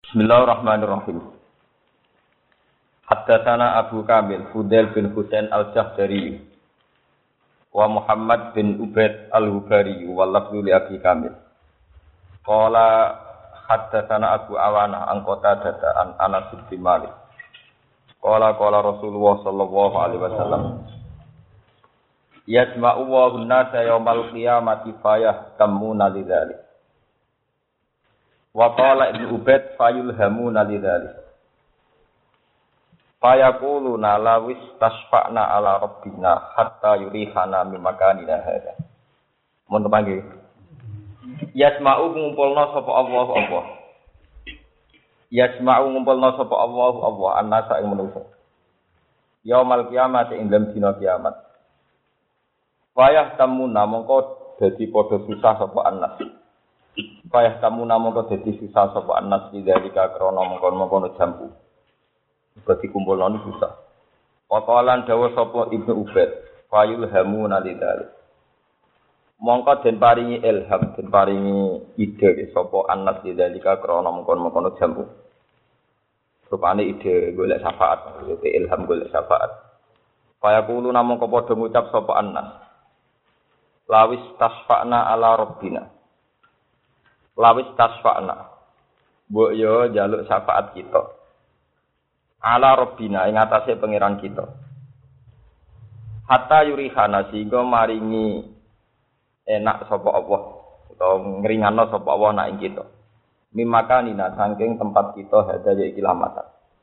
Bismillahirrahmanirrahim. Haddatsana Abu Kamil Fudail bin Husain Al-Jahdari wa Muhammad bin Ubaid Al-Hubari wa lafzu li Abi Kamil. Qala haddatsana Abu Awana an Qatadah an Anas bin Malik. Qala Rasulullah sallallahu alaihi wasallam. Yasma'u wa an-nasa yaumal qiyamati fayahtamuna lidzalik. Wa qala Ibnu Ubaid fayulhamuna lidzalik. Fayaquluna lawis tasfa'na ala rabbina hatta yurihana min makanina hadza. Mun panggil. Yasma'u ngumpulna sapa Allah. Yasma'u ngumpulna sapa Allah annasa ing manusa. Yaumal qiyamati ing dalem dina kiamat. Fayahtamuna mongko dadi padha susah sapa annas. Fayahtamuna mongko dadi susah sapa annas lidzalika krana mongkon-mongkon jambu. Dadi kumpulane susah. Waqalan dawuh sapa Ibnu Ubaid, fayulhamuna lidzalik. Mongko den paringi ilham, den paringi ide sapa annas lidzalika krana mongkon-mongkon jambu. Rupane ide golek syafaat, ilham golek syafaat. Fayaqulu namung padha ngucap sapa annas. Lawis tasfa'na ala rabbina. Lawis tasfa'na. Mbok yo njaluk syafaat kita. Ala rabbina ing atase pangeran kita. Hatta yurihana sehingga maringi enak sapa Allah utawa ngringano sapa Allah nak ing kita. Mimakanina saking tempat kita hadaya iki lamatan.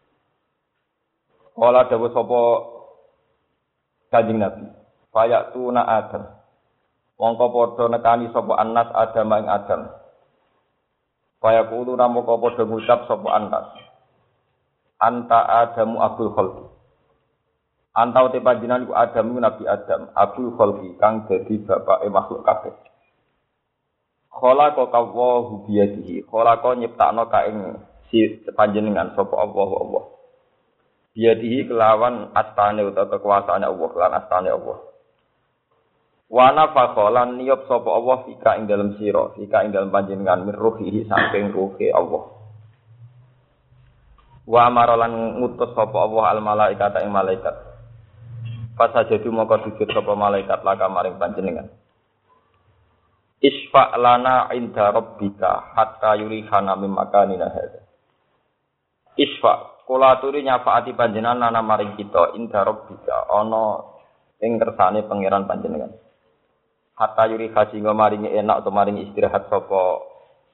Kala dawuh sapa Kanjeng Nabi, fayatuna Adam. Mongko padha nekani sapa annas Adam ing Adam. Fayaqulu namoko padha ngucap sapa annas. Anta Adamu Abul Khalqi. Anta uti panjenengan iku Adamu Nabi Adam, Abul Khalqi kang dadi bapake makhluk kabeh. Khalaqa Allahu biyadihi. Khalaqa nyiptakno ka ing si panjenengan sapa Allah. Biyadihi kelawan astane utawa kekuasaane Allah lan astane Allah. Wa nafakhalan niyab sapa Allah fika ing dalem sira, fika ing dalem panjenengan min ruhihi saking ruhe Allah. Wa amaralan ngutus sapa Allah al malaikata ing malaikat. Fasajadu maka sujud sapa malaikat laka maring panjenengan. Isfa lana inda rabbika hatta yurihana min makanina hadza. Isfa kula aturi nyafaati panjenengan ana maring kita inda rabbika ana ing kersane pangeran panjenengan. Hatta yuriha singgo maringi enak atau maringi istirahat sapa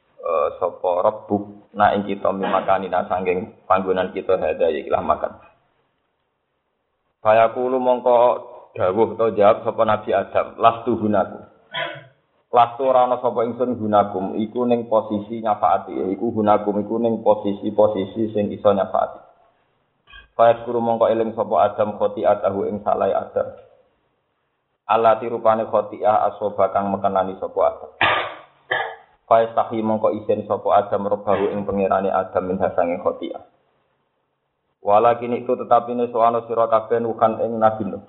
Rabbuk na ing kita mimakanina sanging panggonan kita hadaya ikilah makan. Fayaqulu mongko dawuh utawa jawab sapa Nabi Adam, lastu gunaku. Lastu ora ana sapa ingsun gunakum iku ning posisi nyafaati, iku gunakum iku ning posisi sing iso nyafaati. Fayaqulu mongko eling sapa Adam khoti'atahu ing salai Adam. Allati rupane khoti'ah asoba kang mekenani sapa Adam. Faistahi mongko isin sapa Adam robahu ing pangerane Adam min hasange khoti'ah. Walakin itu tetapine soano sira kabeh nukan ing Nabi Nuh.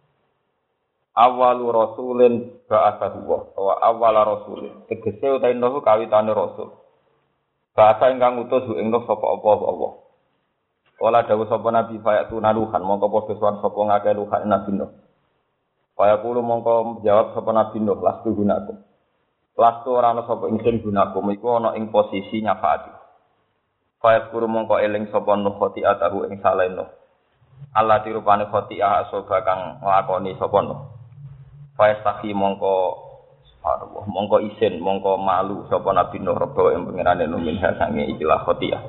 Awalu rasulin ba'athahu wa awala rasulin. Tegese utahe Nuh kawitane rasul. Bahasa ingkang utus ing Nuh sapa Allah. Wala dawuh sapa Nabi fayatu naluhan mongko padha suwan sapa ngakeh luhan Nabi Nuh. Fayaqulu mongko jawab sapa Nabi Nuh lastu gunakum. Lastu ora ana sapa ingsun gunakum iku ana ing posisi nyafaati. Fayaqulu mongko eling sapa Nuh khoti'atahu ing saleh Nuh. Allah dirupane khoti'ah asoba kang nglakoni sapa Nuh. Fayastahi mongko isin mongko malu sapa Nabi Nuh rebo ing pangerane Nuh min hasange ikilah khoti'ah.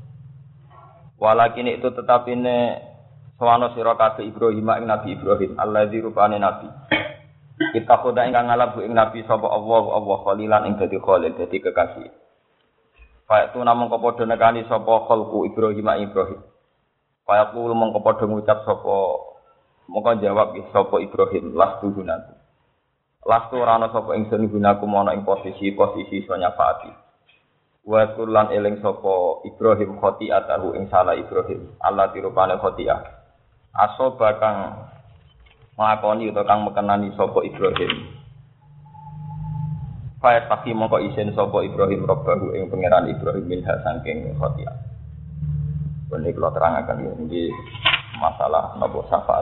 Walakin itu tetapine sawana sira kabeh Ibrahim ing Nabi Ibrahim allazi rupane nabi. Kita khoda ingkang ngalap ing Nabi sapa Allah khalilan ing dadi khalil dadi kekasih. Fa'tu namung padha nekani sapa khalqu Ibrahim. Fa'tu mongko padha ngucap sapa mongko jawab sapa Ibrahim lastu gunaku. Lastu ora ana sapa ingsun gunaku ana ing posisi iso nyafaati. Wa kullan eling sapa Ibrahim khoti'atahu ing salah Ibrahim. Allah dirupane khoti'ah. Asoba kang nglakoni utawa kang mekenani sapa Ibrahim. Fa taki mongko isen sapa Ibrahim robbahu ing pangeran Ibrahim minha saking khotia. Ini kalau terangkan ini masalah napa syafaat.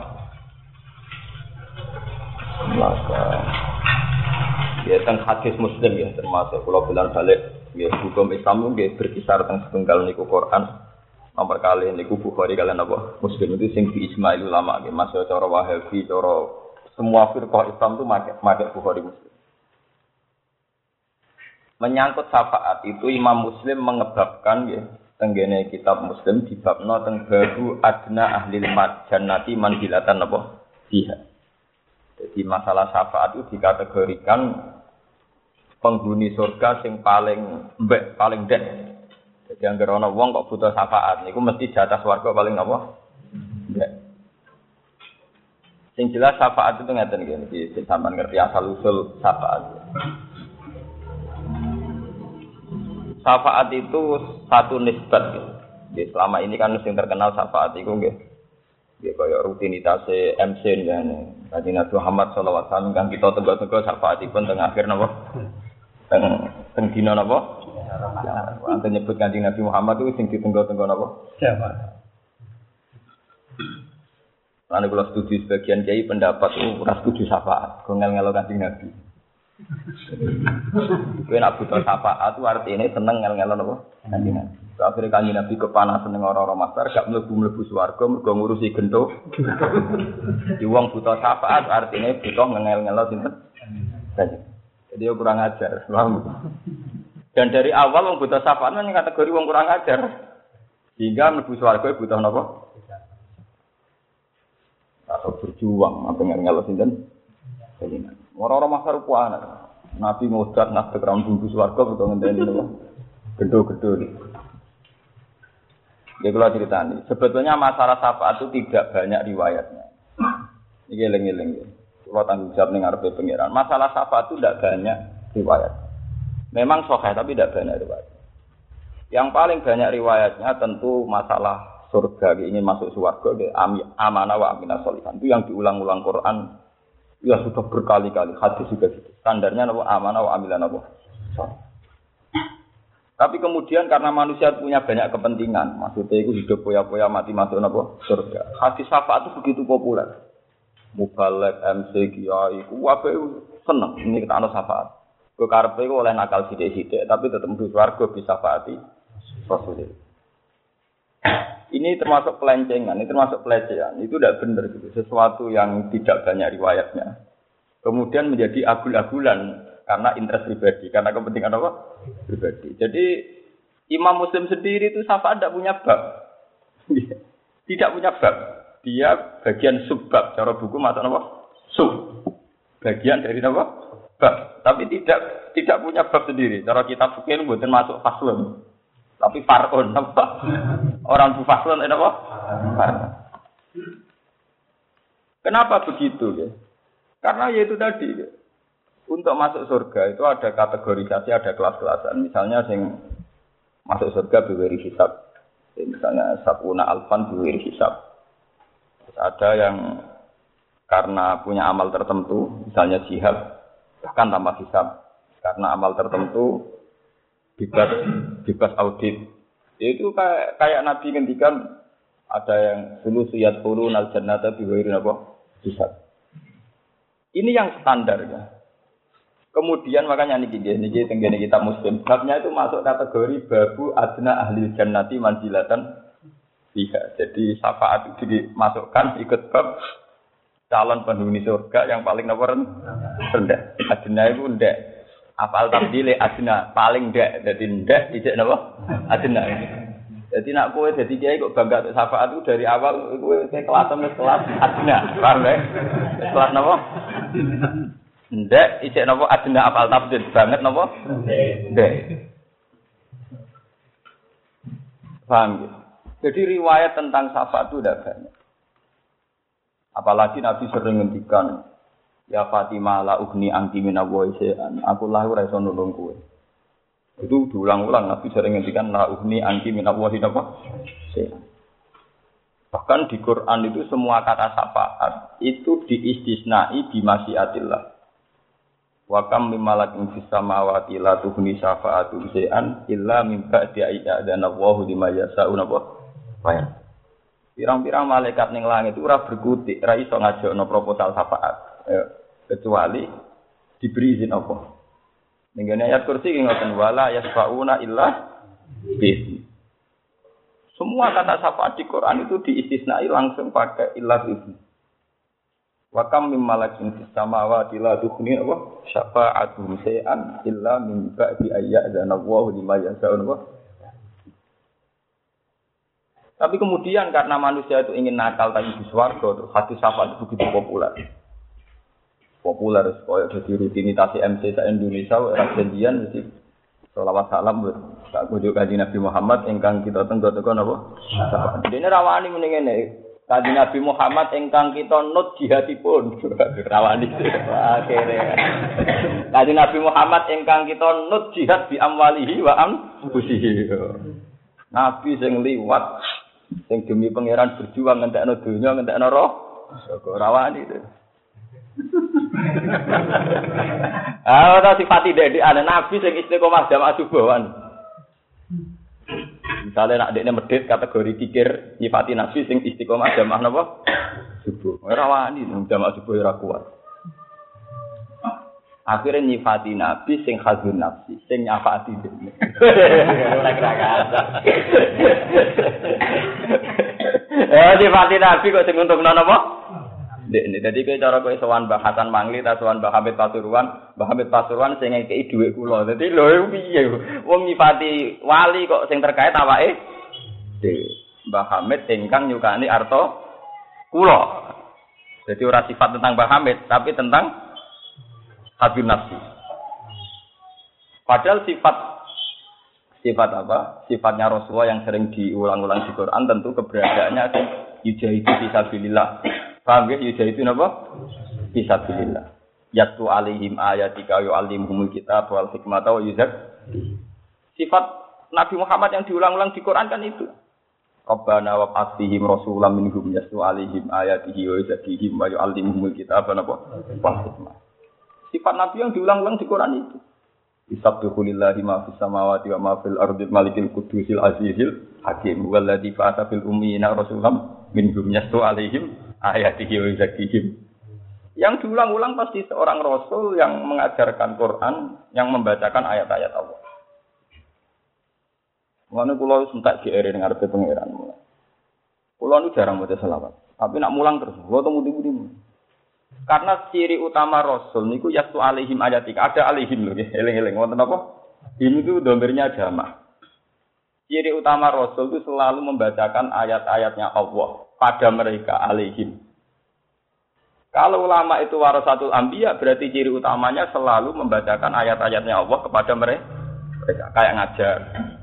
Maka ya teng hadis Muslim ya termasuk kula bilang balik ya hukum Islam nggih berkisar teng setunggal niku Quran nomor kali niku Bukhari kalian apa Muslim itu sing di ijma ulama nggih masuk cara Wahabi cara semua firqah Islam itu make Bukhari Muslim. Menyangkut syafaat itu Imam Muslim mengebabkan ya tenggene kitab Muslim dibabno teng babu adna ahli jannati manzilatan apa fiha. Jadi masalah syafaat itu dikategorikan penghuni surga sing paling mbek paling den. Jadi anggere ana wong kok butuh syafaat niku mesti jatah swarga paling apa? Mbek. Sing jelas syafaat itu ngeten iki sampean ngerti asal usul syafaat. Syafaat itu satu nisbat gitu. Jadi selama ini kan yang terkenal syafaat itu nggih. Nggih kaya rutinitas MC ngene. Kanjeng Nabi Muhammad sallallahu alaihi wasallam kan kita tenggo-tenggo syafaatipun teng akhir napa? Teng dina napa? Ante nyebut Kanjeng Nabi Muhammad itu sing ditenggo-tenggo napa? Syafaat. Lan kula setuju sebagian kiai pendapat ora setuju syafaat, ngel-ngelo Kanjeng Nabi. Kowe nak butuh syafaat itu artine seneng ngel-ngelon apa? Kanjeng Nabi. Akhire Kanjeng Nabi kepanasan ning ora-ora master gak mlebu-mlebu swarga mergo ngurusi gento. Di wong butuh syafaat artine butuh ngel-ngelon sinten? Kanjeng. Jadi yo kurang ajar. Dan dari awal wong butuh syafaat men kategori wong kurang ajar. Sehingga mlebu swarga butuh napa? Atau berjuang apa ngel-ngelon sinten? Kanjeng. Orang-orang masar puana, Nabi ngodat nak tegram bungkus warga betul ngenteni lho. Gedho-gedho. Ya kalau ceritani, sebetulnya masalah syafaat itu tidak banyak riwayatnya. Iki eling-eling. Kalau tanggung jawab ning ngarepe pangeran. Masalah syafaat itu tidak banyak riwayat. Memang sahih tapi tidak banyak riwayat. Yang paling banyak riwayatnya tentu masalah surga ingin masuk surga amanah wa aminah sholihan. Itu yang diulang-ulang Quran. Ya sudah berkali-kali hadis juga gitu. Standarnya apa amanah wa amilan apa. Tapi kemudian karena manusia punya banyak kepentingan, maksudnya itu hidup poya-poya mati masuk apa surga. Hadis syafaat itu begitu populer. Mubalek MC kiai ku wae seneng ini kita ana syafaat. Kok karepe oleh nakal sithik-sithik tapi tetep mlebu swarga bisa syafaati Rasulullah. Ini termasuk pelencengan, ini termasuk pelecehan. Itu tidak benar gitu. Sesuatu yang tidak banyak riwayatnya. Kemudian menjadi agul-agulan karena interest pribadi, karena kepentingan apa? Pribadi. Jadi Imam Muslim sendiri itu syafaat tidak punya bab. Tidak punya bab. Dia bagian subbab. Cara buku maksud apa? Sub. Bagian dari apa? Bab. Tapi tidak punya bab sendiri. Cara kitab fikih mboten masuk faslun. Tapi far'un apa? Orang faslun apa? Far'un. Kenapa begitu ya? Karena yaitu tadi ya. Untuk masuk surga itu ada kategorisasi, ada kelas-kelasan. Misalnya yang masuk surga biwiri hisab. Misalnya sabuna alfan biwiri hisab. Terus ada yang karena punya amal tertentu, misalnya jihad, bahkan tanpa hisab. Karena amal tertentu bebas audit. Itu kayak Nabi ngendikan ada yang dulu suyat qulun al jannata bi ghairi apa? Hisab. Ini yang standar ya. Kemudian makanya niki tenggene kitab Muslim, babnya itu masuk kategori babu adna ahli jannati manzilatan fiha. Jadi syafaat itu dimasukkan ikut bab calon penghuni surga yang paling rendah. Adna itu rendah. Apal tabdile adna paling ndak. Dadi ndak tidak napa? Adna. Jadi nak kowe dadi kiai kok bangga untuk syafaat itu dari awal kowe kelas adna. Paham ya? Kelas napa? Ndak ijek napa adna apal tabdil banget napa? Ndak. Paham ya? Jadi riwayat tentang syafaat itu tidak banyak. Apalagi Nabi sering ngendikan ya Fatimah la ugni anti minallahi syai'an. Aku lah ora iso nulung kowe. Itu diulang-ulang Nabi sering ngendikan la ugni anti minallahi syai'an. Bahkan di Quran itu semua kata syafaat itu diistisnai bi masyiatillah. Wa kam mim malakin fis samawati la tughni syafa'atu syai'an illa min ba'di ayyadana Allahu liman yasha'u napa. Pirang-pirang malaikat ning langit ora berkutik, ora iso ngajakno proposal syafaat. Kecuali diberi izin apa. Ning ayat kursi ngoten wala yasfauna illa bi. Semua kata syafaat di Quran itu diistisnai langsung pakai illa bi. Wa kam mim malakin fis samawati la tughni syafa'atuhum syai'an illa min ba'di ayyadana Allahu liman yasha'u. Tapi kemudian karena manusia itu ingin nakal tapi di swarga, hadis syafaat itu begitu populer. Populer supaya jadi rutinitas MC sa Indonesia ora janjian mesti selawat salam buat kunjuk Kanjeng Nabi Muhammad ingkang kita tenggo-tenggo napa? Dene rawani muni ngene. Kanjeng Nabi Muhammad ingkang kita nut jihadipun. Rawani. Akhire. Kanjeng Nabi Muhammad ingkang kita nut jihad bi amwalihi wa anfusihi. Nabi sing liwat sing demi pangeran berjuang ngentekno donya ngentekno roh. Rawani itu. Sifat ide ana nabi sing istiqomah jamaah subuhan. Misalnya nak dekne medhit kategori kikir nyifati nabi sing istiqomah jamaah napa? Subuh. Ora wani jamaah subuh ora kuat. Akhirnya nyifati nabi sing khazun nafsi, sing nyafati dene. Ora kira-kira. Nyifati nabi kok sing untungno napa? Jadi cara kowe sowan Mbah Hasan Mangli ta sowan Mbah Hamid Pasuruan sing ngekeki dhuwit kula. Dadi lho piye wong nyifati wali kok sing terkait awake dhewe. Mbah Hamid ingkang nyukani arta kula. Jadi ora sifat tentang Mbah Hamid tapi tentang habib nafsi. Padahal sifat apa? Sifatnya Rasulullah yang sering diulang-ulang di Quran tentu keberadaannya sing yujahidu fisabilillah. Paham ya? Yuja itu apa? Fisabilillah. Yatlu alaihim ayatika yu'allimuhumul kitab wal hikmata wa yuzak. Sifat Nabi Muhammad yang diulang-ulang di Quran kan itu. Rabbana wa ba'athihim rasulam minhum yatlu alaihim ayatihi wa yuzakihim wa yu'allimuhumul kitab wal hikmah. Sifat Nabi yang diulang-ulang di Quran itu. Bisabbihu lillahi ma fis samawati wa ma fil ardi malikil qudusil azizil hakim walladzi ba'atha fil ummiyina rasulam minhum yatlu alaihim ayatihi wa zakihim. Yang diulang-ulang pasti seorang rasul yang mengajarkan Quran, yang membacakan ayat-ayat Allah. Mulane kula wis entek GR ning ngarepe pangeran. Kula nu jarang maca selawat, tapi nak mulang terus, kula temu-temu. Karena ciri utama rasul niku yastu alaihim ayatika, ada alaihim lho nggih, eling-eling wonten apa? Ini tuh domirnya jamaah. Ciri utama rasul itu selalu membacakan ayat-ayatnya Allah pada mereka alaihim. Kalau ulama itu warasatul anbiya berarti ciri utamanya selalu membacakan ayat-ayatnya Allah kepada mereka kayak ngajar.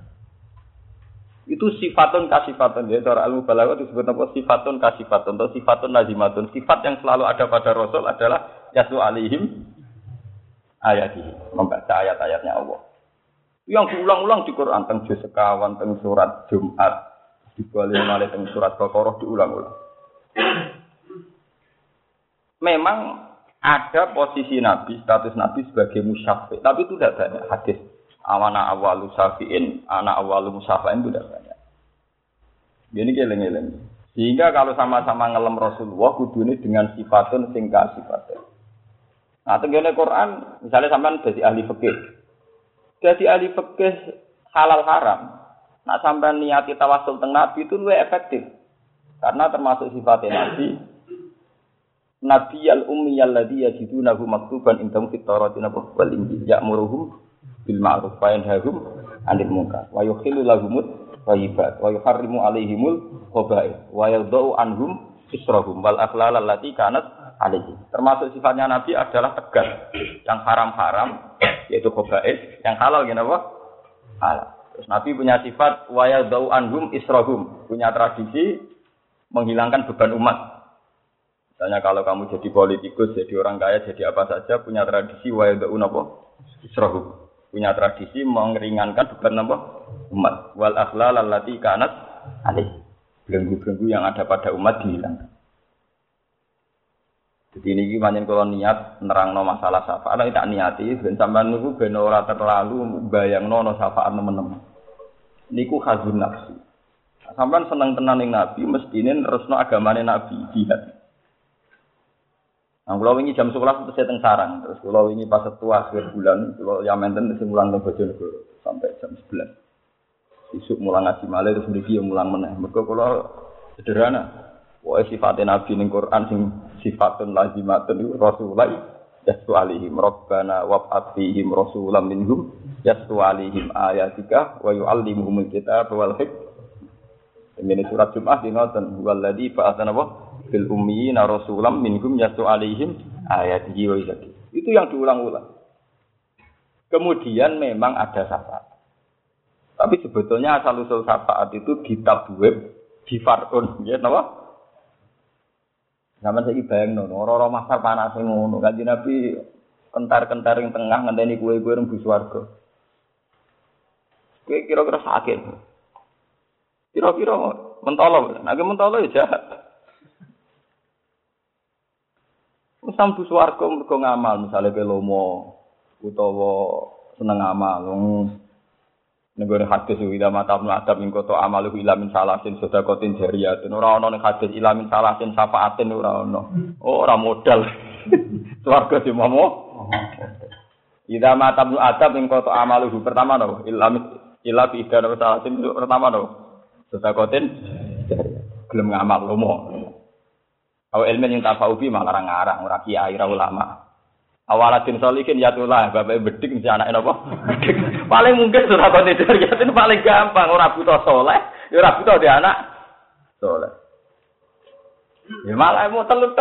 Itu sifatun kasifatun ya cara ilmu balaghah disebut apa sifatun kasifatun atau sifatun lazimatun. Sifat yang selalu ada pada rasul adalah yasu alaihim ayatihi, membaca ayat-ayatnya Allah. Yang diulang-ulang di Quran teng juz sekawan teng surat Jumat dibalik malih teng surat Baqarah diulang-ulang. Memang ada posisi Nabi, status Nabi sebagai musyafi, tapi itu tidak banyak hadis. Awana awalu syafi'in, anak awalu musyafi'in itu tidak banyak. Jadi keleng-keleng. Sehingga kalau sama-sama ngelem Rasulullah kudune dengan sifatun singka sifatun. Nah, tenggene Quran, misalnya sampean dadi ahli fikih. Dadi ahli fikih halal haram. Nah, sampean niati tawasul teng Nabi itu luwih efektif. Karena termasuk sifatnya Nabi al-ummiyal ladzi yajidunahu maktuban indahum fit Taurati wal Injil ya'muruhum bil ma'ruf wa yanhahum 'anil munkar wa yuhillu lahumut thayyibat wa yuharrimu 'alaihimul khaba'ith wa yadh'u anhum israhum wal aghlal allati kanat 'alaihim. Termasuk sifatnya Nabi adalah tegas. Yang haram-haram yaitu khaba'ith, yang halal apa? Halal. Terus Nabi punya sifat wa yadh'u anhum israhum, punya tradisi menghilangkan beban umat. Misalnya kalau kamu jadi politikus, jadi orang kaya, jadi apa saja, punya tradisi wa yad'u apa? Israhum. Punya tradisi mengeringankan beban apa? Umat. Wal aghlal allati kanat alaih. Belenggu-belenggu yang ada pada umat dihilangkan. Jadi ini pancen kula niat nerangno masalah syafaat, nek tak niati ben sampean niku ben ora terlalu bayangno ana syafaat nemen-nemen. Niku khazun nafsi. Sampean seneng tenan ning Nabi, mestine nerusno agamane Nabi jihad. Nah, kula wingi jam 11 terus teng sarang, terus kula wingi pas setua akhir bulan, kula ya menten sing mulang teng Bojonegoro sampai jam 11. Isuk mulang ngaji malih terus mriki yo mulang meneh. Mergo kula sederhana. Wae sifate Nabi ning Quran sing sifatun lazimatun iku Rasulullah yastu alaihim rabbana wab'ath fihim rasulam minhum yastu alaihim ayatika wa yu'allimuhumul kitaba wal hikmah. Ini surat Jumat ngoten waladzi ba'atsana bil ummiyina rasulam minhum yastu alaihim ayatihi wa yuzakki. Itu yang diulang-ulang. Kemudian memang ada syafaat. Tapi sebetulnya asal usul syafaat itu di tabweb di farun ya napa? Sampeyan saiki bayangno, ora-ora masar panase ngono. Kanjeng Nabi kentar-kentar ing tengah ngenteni kowe-kowe rembu swarga. Kowe kira-kira sakit. Kira-kira mentolo, nek mentolo ya jahat. Wis sambu swarga mergo ngamal, misale kowe lomo utawa seneng amal. Negara hadis ila mata adab ing kota amalu ilamin salasin sedekatin jariyatun ora ana ning hadis ilamin salasin syafaatin ora ana. Oh ora modal. Swarga dimomo. Ila mata adab ing kota amalu pertama no ilamin ila bi idana salasin pertama no sedekatin jariyatun. Gelem ngamal lomo. Aw ilmen yang tafaubi malah ngarang ora kiai ora ulama. Awalatin solikin yatullah bapak bedik mesti anake napa? Paling mungkin surah Qadar itu paling gampang ora butuh saleh, ya ora butuh di anak saleh. Ya malah mau telut.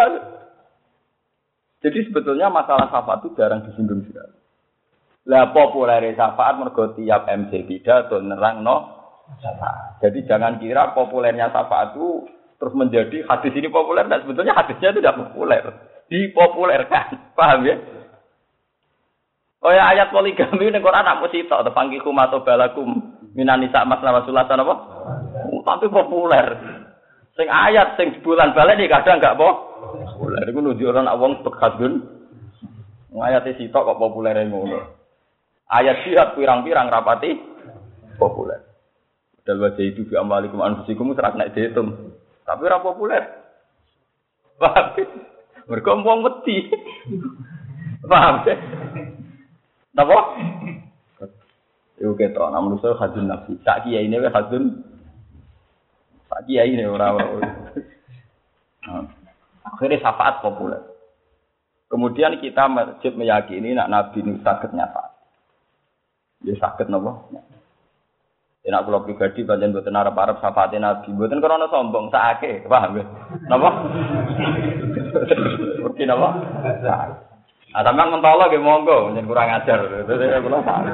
Jadi sebetulnya masalah syafaat itu jarang disinggung sekali. Lah populer syafaat mergo tiap MC pidato nerangno syafaat. Jadi jangan kira populernya syafaat itu terus menjadi hadis ini populer dan sebetulnya hadisnya itu tidak populer. Dipopulerkan. Paham ya? Oh ya ayat poligami ning Quran nak mesti tok tepangkikum atau balakum minan nisa masna wasulatan apa? Tapi populer. Sing ayat sing bulan balik iki kadang enggak populer. Iku nunjukno nek wong bekadun. Ayate sitok kok populere ngono. Ayat jihad pirang-pirang rapati populer. Dal wajah itu bi amalikum anfusikum serak nek diitung. Tapi ora populer. Paham? Mergo wong wedi. Paham? Napa? Yo ketok nek manusa hadun nafsi. Sak kiai ne wae hadun. Sak kiai ne ora wae. Akhirnya syafaat populer. Kemudian kita masjid meyakini nak Nabi ini saged nyafaat. Ya saged napa? Nek kula pribadi pancen mboten arep-arep syafaate Nabi, mboten krana sombong, sakake, paham ya? Napa? Oke napa? Ah sampeyan mentolo nggih monggo, njen kurang ajar. Kula salah.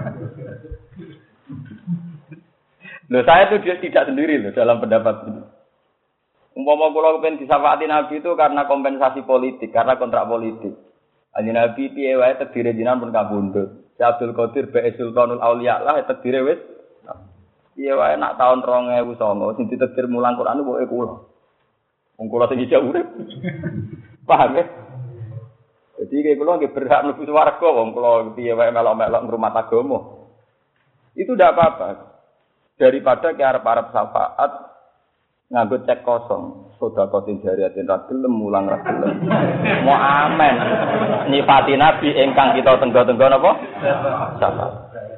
Loh saya itu dia tidak sendiri loh dalam pendapat ini. Umpama kula kepen disafaati Nabi itu karena kompensasi politik, karena kontrak politik. Kanjeng Nabi piye wae tedire jenengan pun kabundut. Si Abdul Qadir Bae Sultanul Auliya lah tedire wis. Piye wae nak tahun 2009 sing ditedir mulang Quran pokoke kula. Wong kula sing ijak urip. Paham ya? Jadi kayak kula nggih berhak mlebu swarga wong kula piye wae melok-melok ngrumat agama. Itu ndak apa-apa. Daripada ke arep-arep syafaat nganggo cek kosong, sedekatin jariyatin ra gelem mulang ra gelem. Mau amen. Nyifati Nabi ingkang kita tenggo-tenggo napa? Syafaat.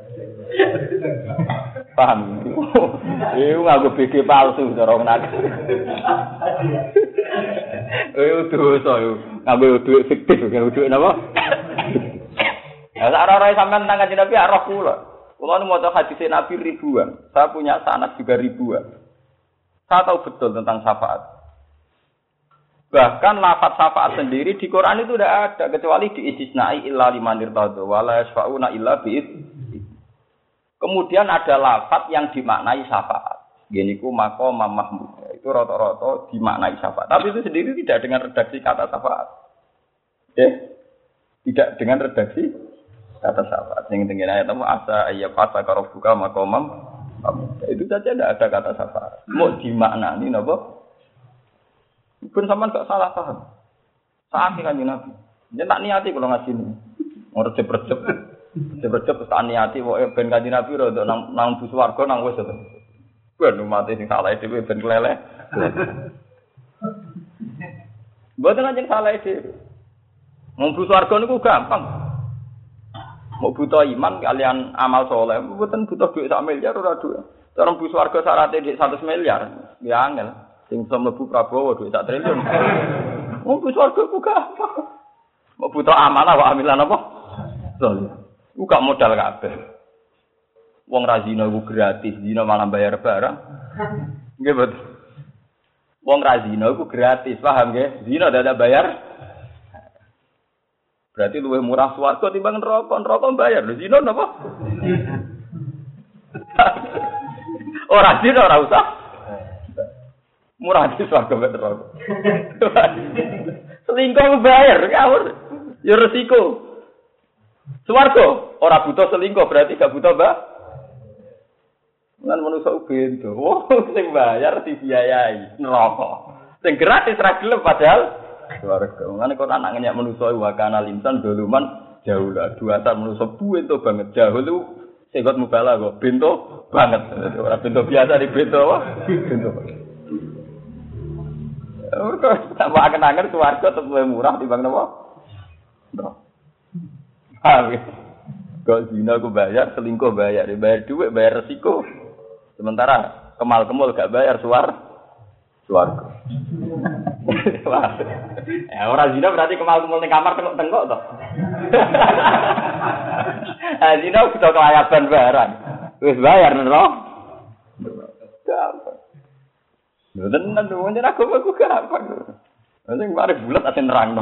Paham? Iku nganggo BG palsu cara menak. Dosa yo. Nganggo duit fiktif, nganggo duit napa? Ya sak ora sampean nang Kanjeng Nabi arah kula. Kula nu maca hadis Nabi ribuan. Saya punya sanad juga ribuan. Saya tahu betul tentang syafaat. Bahkan lafaz syafaat sendiri di Quran itu tidak ada kecuali diistisnai illa liman irtadha wala yasfauna illa bi'id. Kemudian ada lafaz yang dimaknai syafaat. Geniku maqam mahmud. Itu rata-rata dimaknai syafaat. Tapi itu sendiri tidak dengan redaksi kata syafaat. Tidak dengan redaksi kata syafaat. Yang tinggi ayat apa? Asa ayyafasa karobuka maqamam. Itu saja tidak ada kata syafaat. Mau dimaknani napa? Pun sampean gak salah paham. Sakit Kanjeng Nabi. Yen tak niati kula ngaji ini. Ora recep-recep. Recep-recep tak niati pokoke ben Kanjeng Nabi ro nang bus warga nang wis to. Ben umat sing salah dhewe ben keleleh. Mboten anjing salah dhewe. Mumpu swarga niku gampang. Mau butuh iman kalian amal soleh, mboten butuh duit 1 miliar ora duit. Cara mumpu swarga syaratnya duit 100 miliar, ya angel. Sing iso mlebu Prabowo duit 1 triliun. Mumpu swarga ku gampang. Mau butuh amanah wa amilan apa? Soleh. Ku gak modal kabeh. Wong ra zina ku gratis, zina malah bayar barang. Nggih betul. Wong ra zina ku gratis, paham nggih? Zina dadak bayar. Berarti luwih murah swarga timbang neraka. Neraka bayar lho zina napa? Ora zina ora usah. Murah di swarga mek neraka. Selingkuh bayar ngawur. Ya resiko. Swarga ora butuh selingkuh berarti gak butuh Lan manusa bento. Oh, sing bayar dibiayai neraka. Sing gratis ra gelem padahal swarga. Mangane kok anak ngenyak manusa wa kana linsan doluman jauh lah. Dua sak manusa bento banget. Jauh lu segot mubala kok bento banget. Ora bento biasa di bento apa? Bento. Ora tambah angen-angen swarga tetep murah timbang napa? Kok zina aku bayar, selingkuh bayar, bayar duit, bayar resiko. Sementara kemal-kemul gak bayar swarga. Ya ora zina berarti kemal-kemul ning kamar tengok-tengok to. Ah zina kudu kelayaban barang. Wis bayar nero. Gampang. Lho tenan wong ora aku gampang. Sing mari bulat ate nerangno.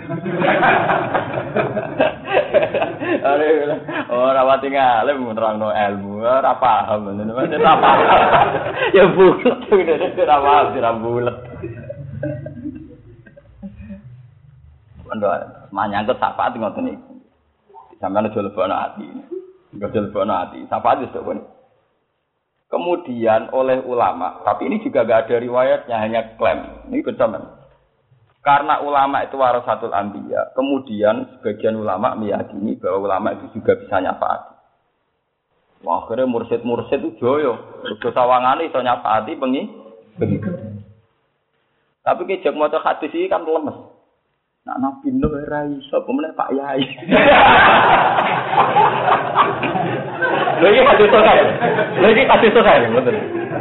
Ora wati ngalem nerangno ilmu, ora paham ngene. Ora paham. Ya bulat ngene ora paham ora bulat. Ando manyangkut sapaat ngoten iki. Sampeyan aja lebono ati. Enggak lebono ati. Sapaat wis kok. Kemudian oleh ulama, tapi ini juga enggak ada riwayatnya, hanya klaim. Ini betul. Karena ulama itu warasatul anbiya, kemudian sebagian ulama meyakini bahwa ulama itu juga bisa nyafaati. Wah, akhirnya mursyid itu joyo, udah sawangane iso nyafaati bengi. Tapi kejak maca hadis iki kan lemes. Nak nabi no ora iso, pemene Pak Yai. Lha iki hadis sahih, betul.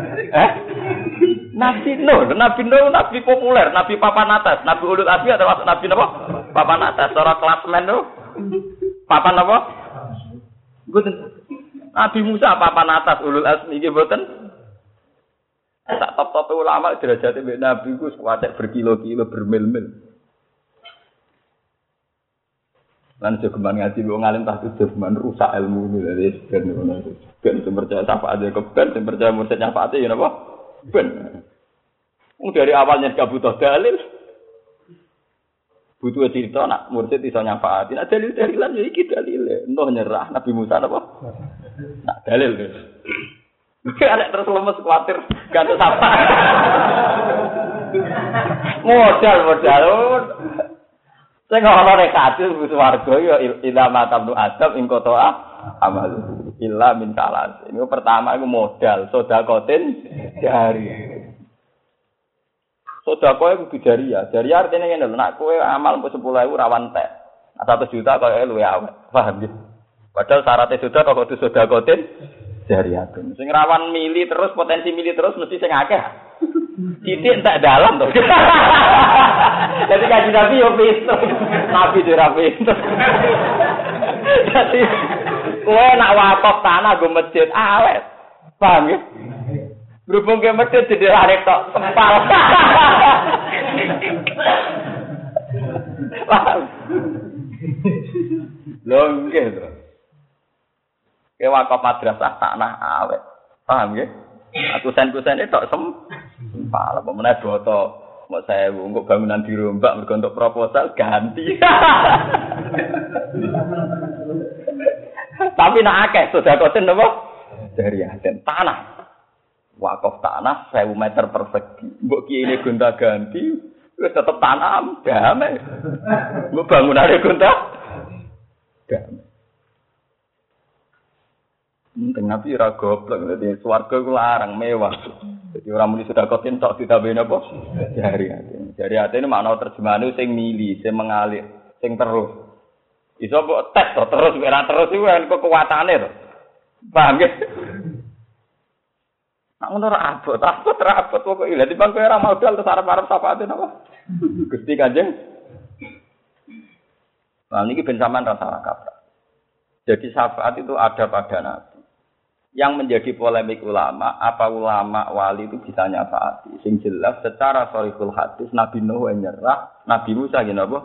Nabi nabi populer, nabi papan atas, nabi ulul azmi atau nabi apa? Papan atas, secara klasmen tuh. Papan apa? Mboten. Nabi Musa papan atas ulul azmi nggih mboten. Tak top-top ulama derajate mbek nabi ku kuwatek berkilo-kilo bermil-mil. Lan jogeman ngaji wong alim tak jogeman rusak ilmu ini dari ben ngono. Ben percaya sapa aja keben, percaya mursyid nyafaati ya napa? Ben. Dari awalnya gak butuh dalil. Butuh cerita nak mursyid iso nyafaati. Nak dalil-dalilan ya iki dalile. Entah nyerah Nabi Musa apa? Nak dalil. Arek terus lemes kuwatir ganti sapa. Modal. Sing ora nek kadus swarga ya ila matam adab ing kota amal. Illa min salas. Ini pertama iku modal sedekatin jari. Sedekah iku jariah. Jariah artine ngene lho, nek kowe amal 10.000 rawan tek. 1 juta koyo luwe awet. Paham ya? Padahal syaratnya sedekah kok kudu sedekatin jariah. Sing rawan mili terus potensi mili terus mesti sing akeh. Titik entek dalam to. Jadi kaji Nabi yo pinter. Nabi ora pinter. Jadi kowe nak wakaf tanah go masjid awet. Paham ya? Berhubung ke masjid didirare tok sempal. Paham? Lho nggih to. Ke wakaf madrasah tanah awet. Paham ya? Aku sen-kusene tok sempal apa meneh boto. Mbok 1000 engko bangunan dirombak mergo untuk proposal ganti. Tapi nak akeh sedekaten napa? Dari aden tanah. Wakaf tanah 1000 meter persegi. Mbok kiye gonta-ganti Wis tetep tanam, damai. Mbok bangunane gonta. Damai. Nabi ora goblok, dadi swarga iku larang mewah. Jadi orang muni sudah kotin tok ditambahin apa? Jari hati ini makna terjemahane sing mili, sing mengalir, sing terus. Iso mbok tes terus ora terus iku kan kekuatane to. Paham nggih? Nak ngono ora abot kok iki. Lah timbang kowe ora modal terus arep-arep syafaate napa? Gusti Kanjeng. Nah niki ben sampean ra salah kaprah. Jadi syafaat itu ada pada Nabi. Yang menjadi polemik ulama, apa ulama wali itu bisa nyafaati? Sing jelas secara sharihul hadis Nabi Nuh nyerah, Nabi Musa gini apa?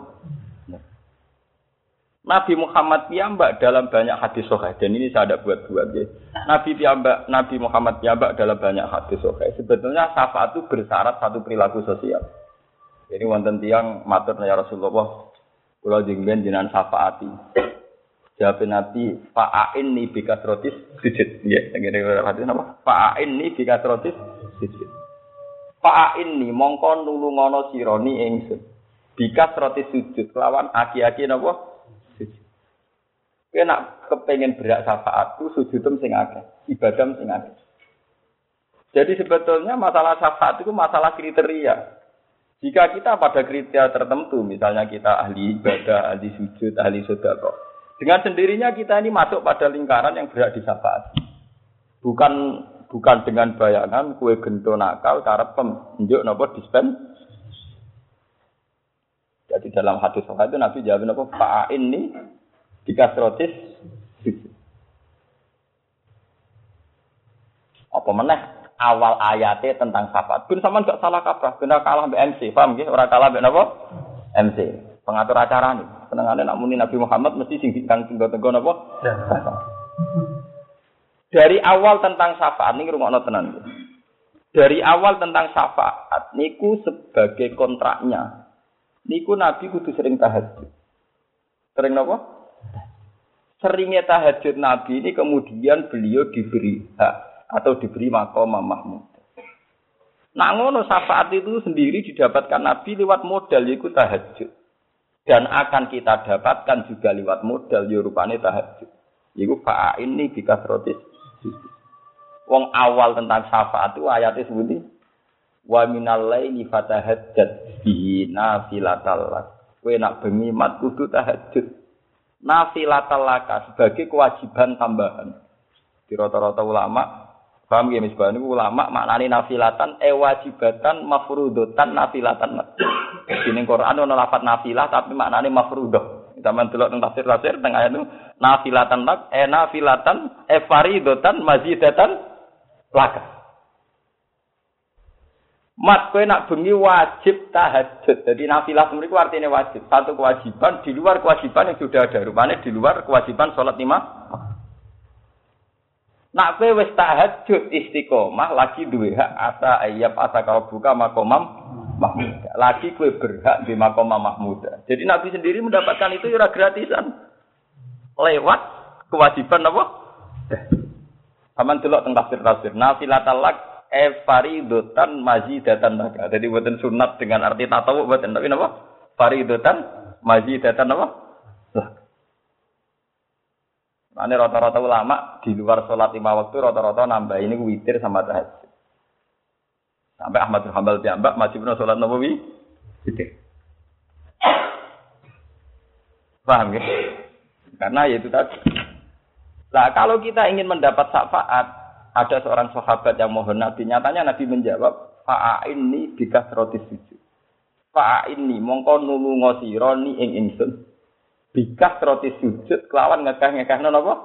Nabi Muhammad piyambak dalam banyak hadis sahih, dan ini saya ada buat-buat ya. Nabi Muhammad piyambak dalam banyak hadis sahih. Sebetulnya syafaat itu bersyarat satu perilaku sosial. Jadi wonten tiyang matur ya Rasulullah, kula jenengan jenengan syafaati. Jawab Nabi, fa'ainni bikasrotis sujud. Ya, ngene hadis napa? Fa'ainni bikasrotis sujud. Fa'ainni mongko nulungono sironi ingsun. Bikasrotis sujud lawan aki-aki napa? Sujud. Kowe nek kepengin berak syafaatku sujudem sing akeh, ibadah sing akeh. Jadi sebetulnya masalah syafaat itu masalah kriteria. Jika kita pada kriteria tertentu, misalnya kita ahli ibadah, ahli sujud, ahli sedekah, dengan sendirinya kita ini masuk pada lingkaran yang berhak disyafaati. Bukan dengan bayangan kue gento nakal cara penunjuk napa dispen. Jadi dalam hadis sahih itu Nabi jawab napa fa'in ini dikasrotis. Apa meneh awal ayatnya tentang syafaat. Ben sampean gak salah kaprah, ben kalah mbek MC, paham nggih? Ora kalah mbek napa? MC. Pengatur acara nih, senengane nak muni Nabi Muhammad mesti sing tenggo-tenggo napa? Dari awal tentang syafaat niki rungokno tenan. Dari awal tentang syafaat niku sebagai kontraknya. Niku Nabi kudu sering tahajud. Sering napa? Seringnya tahajud Nabi ini kemudian beliau diberi hak atau diberi maqam mahmud. Nah ngono syafaat itu sendiri didapatkan Nabi lewat modal yaitu tahajud. Dan akan kita dapatkan juga lewat modal rupane tahajud. Iku fa'in ini bikasrotis. Wong awal tentang syafaat itu ayatnya sebuti wa minal laili fatahajjat bihi nafilatal lak. Kowe nak bengi mat kudu tahajud. Nafilatal lak sebagai kewajiban tambahan. Di rata-rata ulama paham ya misbah niku ulama maknane nafilatan wajibatan mafruudatan nafilatan. Di Quran ana lafaz nafilah tapi maknane mafruudah. Zaman delok teng tafsir teng ayat itu nafilatan lak nafilatan faridatan mazidatan laka. Mat kowe nak bengi wajib tahajud. Jadi nafilah mriku artine wajib. Satu kewajiban di luar kewajiban yang sudah ada. Rupane di luar kewajiban salat 5. Nak kowe wis tahajud istiqomah lagi duwe hak asa ayyab asa kau buka makomam mahmud. Lagi kowe berhak di makomam mahmud. Jadi Nabi sendiri mendapatkan itu ora gratisan. Lewat kewajiban apa? Aman delok teng tafsir. Nafilatal lak faridatan mazidatan lak. Jadi boten sunat dengan arti tatawu boten tapi napa? Faridatan mazidatan apa? Lah. Ane rata-rata ulama di luar sholat 5 waktu rata-rata nambah ini witir sama tahajud. Sampai Ahmad bin Hanbal piyambak wajibna sholat nawawi witir. Paham ya? Karena ya itu tadi. Nah, kalau kita ingin mendapat syafaat, ada seorang sahabat yang mohon Nabi, nyatanya Nabi menjawab, fa'inni bikasrotis sujud. Fa'inni mongko nulunga sira ni ing ingsun. Bikas roti sujud kelawan ngekah napa?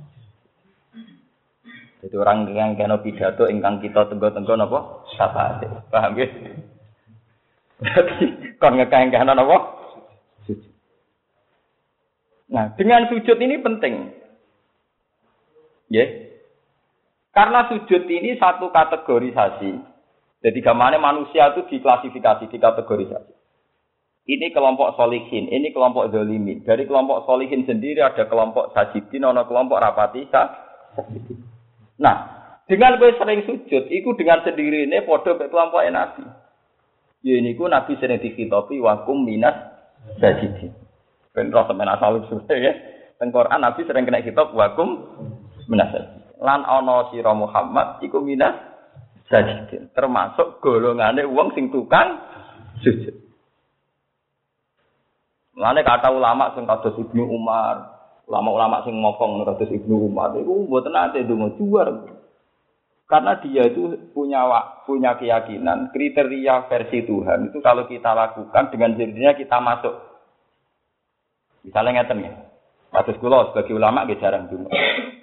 Jadi orang yang kena pidato ingkang kita tenggo-tenggo napa? Syafaat. Paham nggih? Berarti kon ngekah napa? Sujud. Nah, dengan sujud ini penting. Ya. Karena sujud ini satu kategorisasi. Jadi gamane manusia itu diklasifikasi, dikategorisasi. Ini kelompok solihin, ini kelompok zalimin. Dari kelompok solihin sendiri ada kelompok sajidin, ada kelompok rapati sajidin. Nah, dengan kowe sering sujud, itu dengan sendiri ini podo ke kelompok Nabi. Ya niku Nabi sering dikhitobi wakum minas sajidin. Ben roh sampeyan asal usul ya. Teng Quran Nabi sering kena khitab wakum minas sajidin. Lan ana sira Muhammad iku minas sajidin, termasuk golongane wong sing tukang sujud. Mulane kata ulama sing kados Ibnu Umar, ulama-ulama sing ngomong kados Ibnu Umar iku mboten ate ndonga juar. Karena dia itu punya keyakinan kriteria versi Tuhan itu kalau kita lakukan dengan sendirinya kita masuk. Misalnya ngeten ya. Kados kula sebagai ulama nggih jarang ndonga.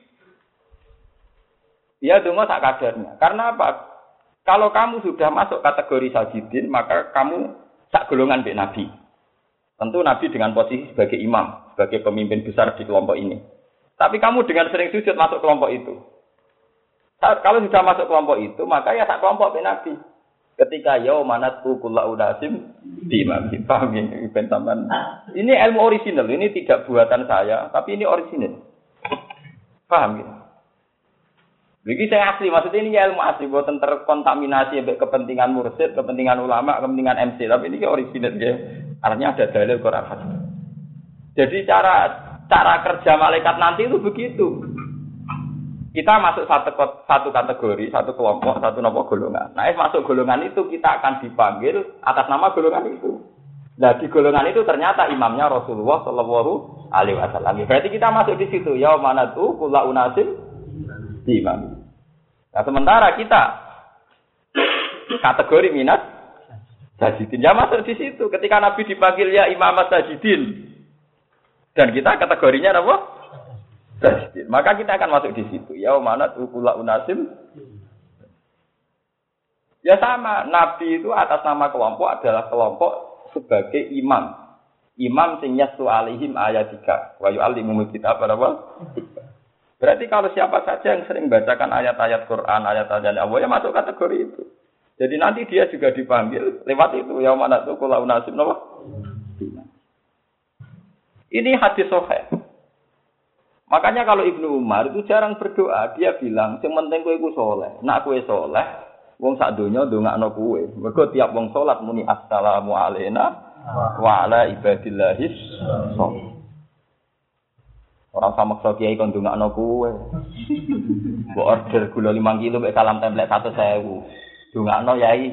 Ya ndonga sak kadarnya. Karena apa? Kalau kamu sudah masuk kategori sajidin, maka kamu sak golongan mbek Nabi. Tentu Nabi dengan posisi sebagai imam, sebagai pemimpin besar di kelompok ini. Tapi kamu dengan sering sujud masuk kelompok itu. Kalau sudah masuk kelompok itu, maka ya sak kelompok mbek Nabi. Ketika yaumanatu kullu unasim di imam. Paham ini pentambahan. Ini ilmu orisinal, ini tidak buatan saya, tapi ini orisinal. Paham ya? Begini saya asli, maksudnya ini ilmu asli, buatan terkontaminasi sampai kepentingan mursyid, kepentingan ulama, kepentingan MC, tapi ini original ya. Artinya ada dalil Quran hadis. Jadi cara kerja malaikat nanti itu begitu. Kita masuk satu kategori, satu kelompok, satu golongan. Nah, masuk golongan itu kita akan dipanggil atas nama golongan itu. Nah, di golongan itu ternyata imamnya Rasulullah Shallallahu Alaihi Wasallam. Berarti kita masuk di situ. Yaumanatu kullu unasim imam. Nah, sementara kita kategori minat sajidin ya masuk di situ. Ketika Nabi dipanggil ya imam sajidin dan kita kategorinya apa? Sajidin. Maka kita akan masuk di situ. Yaumanat ukula unasim. Ya sama, Nabi itu atas nama kelompok adalah kelompok sebagai imam. Imam sing yastu alaihim ayatika wa yu'allimul kitab apa? Berarti kalau siapa saja yang sering bacakan ayat-ayat Quran, ayat-ayat Allah ya masuk kategori itu. Jadi nanti dia juga dipanggil lewat itu. Yaumanat ukula unasim apa? Ini hadis sahih. Makanya kalau Ibnu Umar itu jarang berdoa, dia bilang, sing penting kowe iku saleh. Nek kowe saleh, wong sak donya ndongakno kowe. Mergo tiap wong salat muni assalamu alayna wa ala ibadillahis shalih. Ora usah maksa kiai kon ndongakno kowe. Mbok order gula 5 kilo mek salam template 100.000. Ndongakno yai.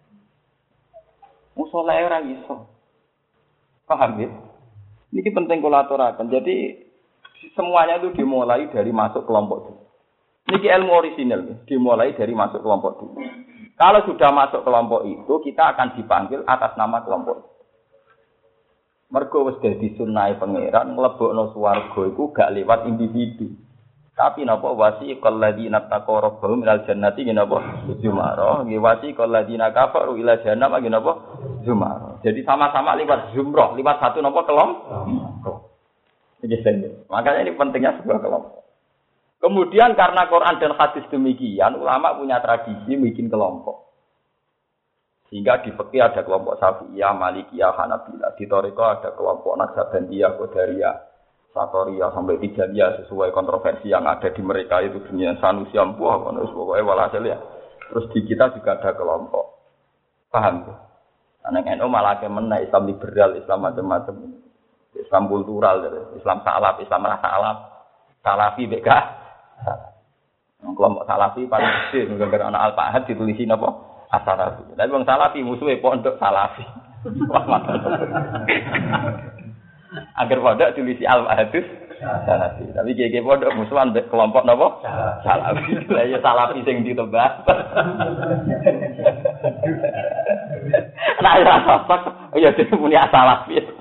Wong saleh ora iso. Paham ya? Ini penting kula aturaken. Jadi semuanya itu dimulai dari masuk kelompok dulu. Ini ilmu orisinal, dimulai dari masuk kelompok dulu. Kalau sudah masuk kelompok itu, kita akan dipanggil atas nama kelompok itu. Mergo wis dadi sunnahe pangeran, mlebokno swarga iku gak lewat individu. Tapi napa wasiqal ladzina taqaw rabbahum ilal jannati napa zumara, nggih wasiqal ladzina kafaru ila jahannam napa zumara. Jadi sama-sama lewat zumrah, lewat satu napa kelompok. Makanya ini pentingnya sebuah kelompok. Kemudian karena Quran dan hadis demikian, ulama punya tradisi bikin kelompok. Sehingga di fikih ada kelompok Syafi'iyah, Malikiyah, Hanabilah. Di Thariqah ada kelompok Naqsabandiyah, Qadariyah, Satoriyah sampai Tijaniyah sesuai kontroversi yang ada di mereka itu dunia Sanusi ampuh, pokoknya walhasil ya. Terus di kita juga ada kelompok. Paham ya? Anak NU malah kemana Islam liberal, Islam macam-macam. Islam kultural, Islam salaf, Islam rasa alaf, salafi beka. Kelompok salafi paling kecil, gara-gara anak Al-Fahad ditulisin apa? As-Salafi. Tapi bang salafi musuhnya pondok salafi. Agar pondok tulisi Al-Fahadus salafi. Tapi gege pondok musuhan kelompok apa? Salafi. Lah ya salafi sing ditebak. Nah ya sosok, ya dia punya salafi.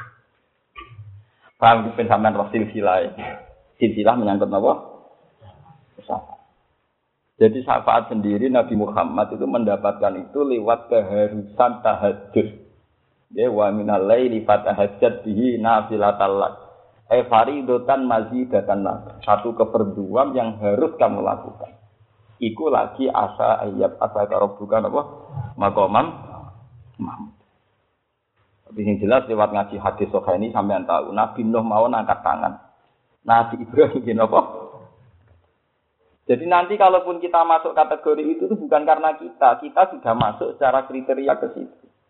Paham di pensamaan roh silsilah. Silsilah menyangkut apa? Syafaat. Jadi syafaat sendiri Nabi Muhammad itu mendapatkan itu lewat keharusan tahajud. Ya wa minal laili fatahajjat bihi nafilatal lak. Faridatan mazidatan lak. Satu keperduan yang harus kamu lakukan. Iku lagi asa ayat asa karobukan apa? Maqamam Mahmud. Tapi yang jelas lewat ngaji hadis sahih ini sampean tahu Nabi Nuh mau angkat tangan. Nabi Ibrahim gini apa? Jadi nanti kalaupun kita masuk kategori itu bukan karena kita sudah masuk secara kriteria ke situ.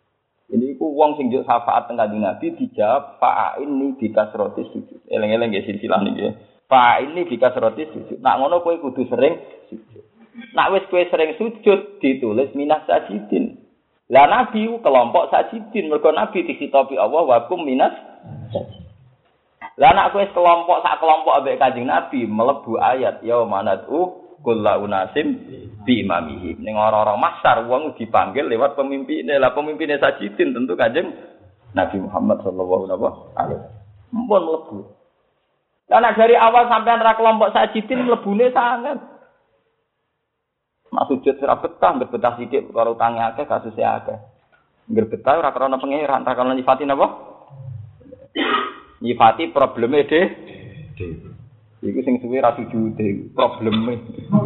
Ini ku wong sing njuk syafaat teng Kanjeng Nabi dijawab fa'inni bikasroti sujud. Eleng-eleng nggih silsilah niki. Fa'inni bikasroti sujud. Nak ngono kowe kudu sering sujud. Nak wis kowe sering sujud ditulis minas sajidin. Lah Nabi kelompok sajidin mergo Nabi disitopi Allah wa kum minas sajidin. Lah nak kowe kelompok sak kelompok ambek Kanjeng Nabi mlebu ayat ya manatu kullu unasim bi imamihim. Ning orang-orang masyar wong dipanggil lewat pemimpinnya. Lah pemimpinnya sajidin tentu Kanjeng Nabi Muhammad sallallahu alaihi wasallam. Mumpun mlebu. Lah nek dari awal sampean ra kelompok sajidin mlebune sangat. Mak sujud ora betah, betah sithik karo utange akeh kasuse akeh. Ngger betah ora krana pangeran, ra krana nyifati napa? Nyifati probleme Iku sing suwe ra sujude probleme.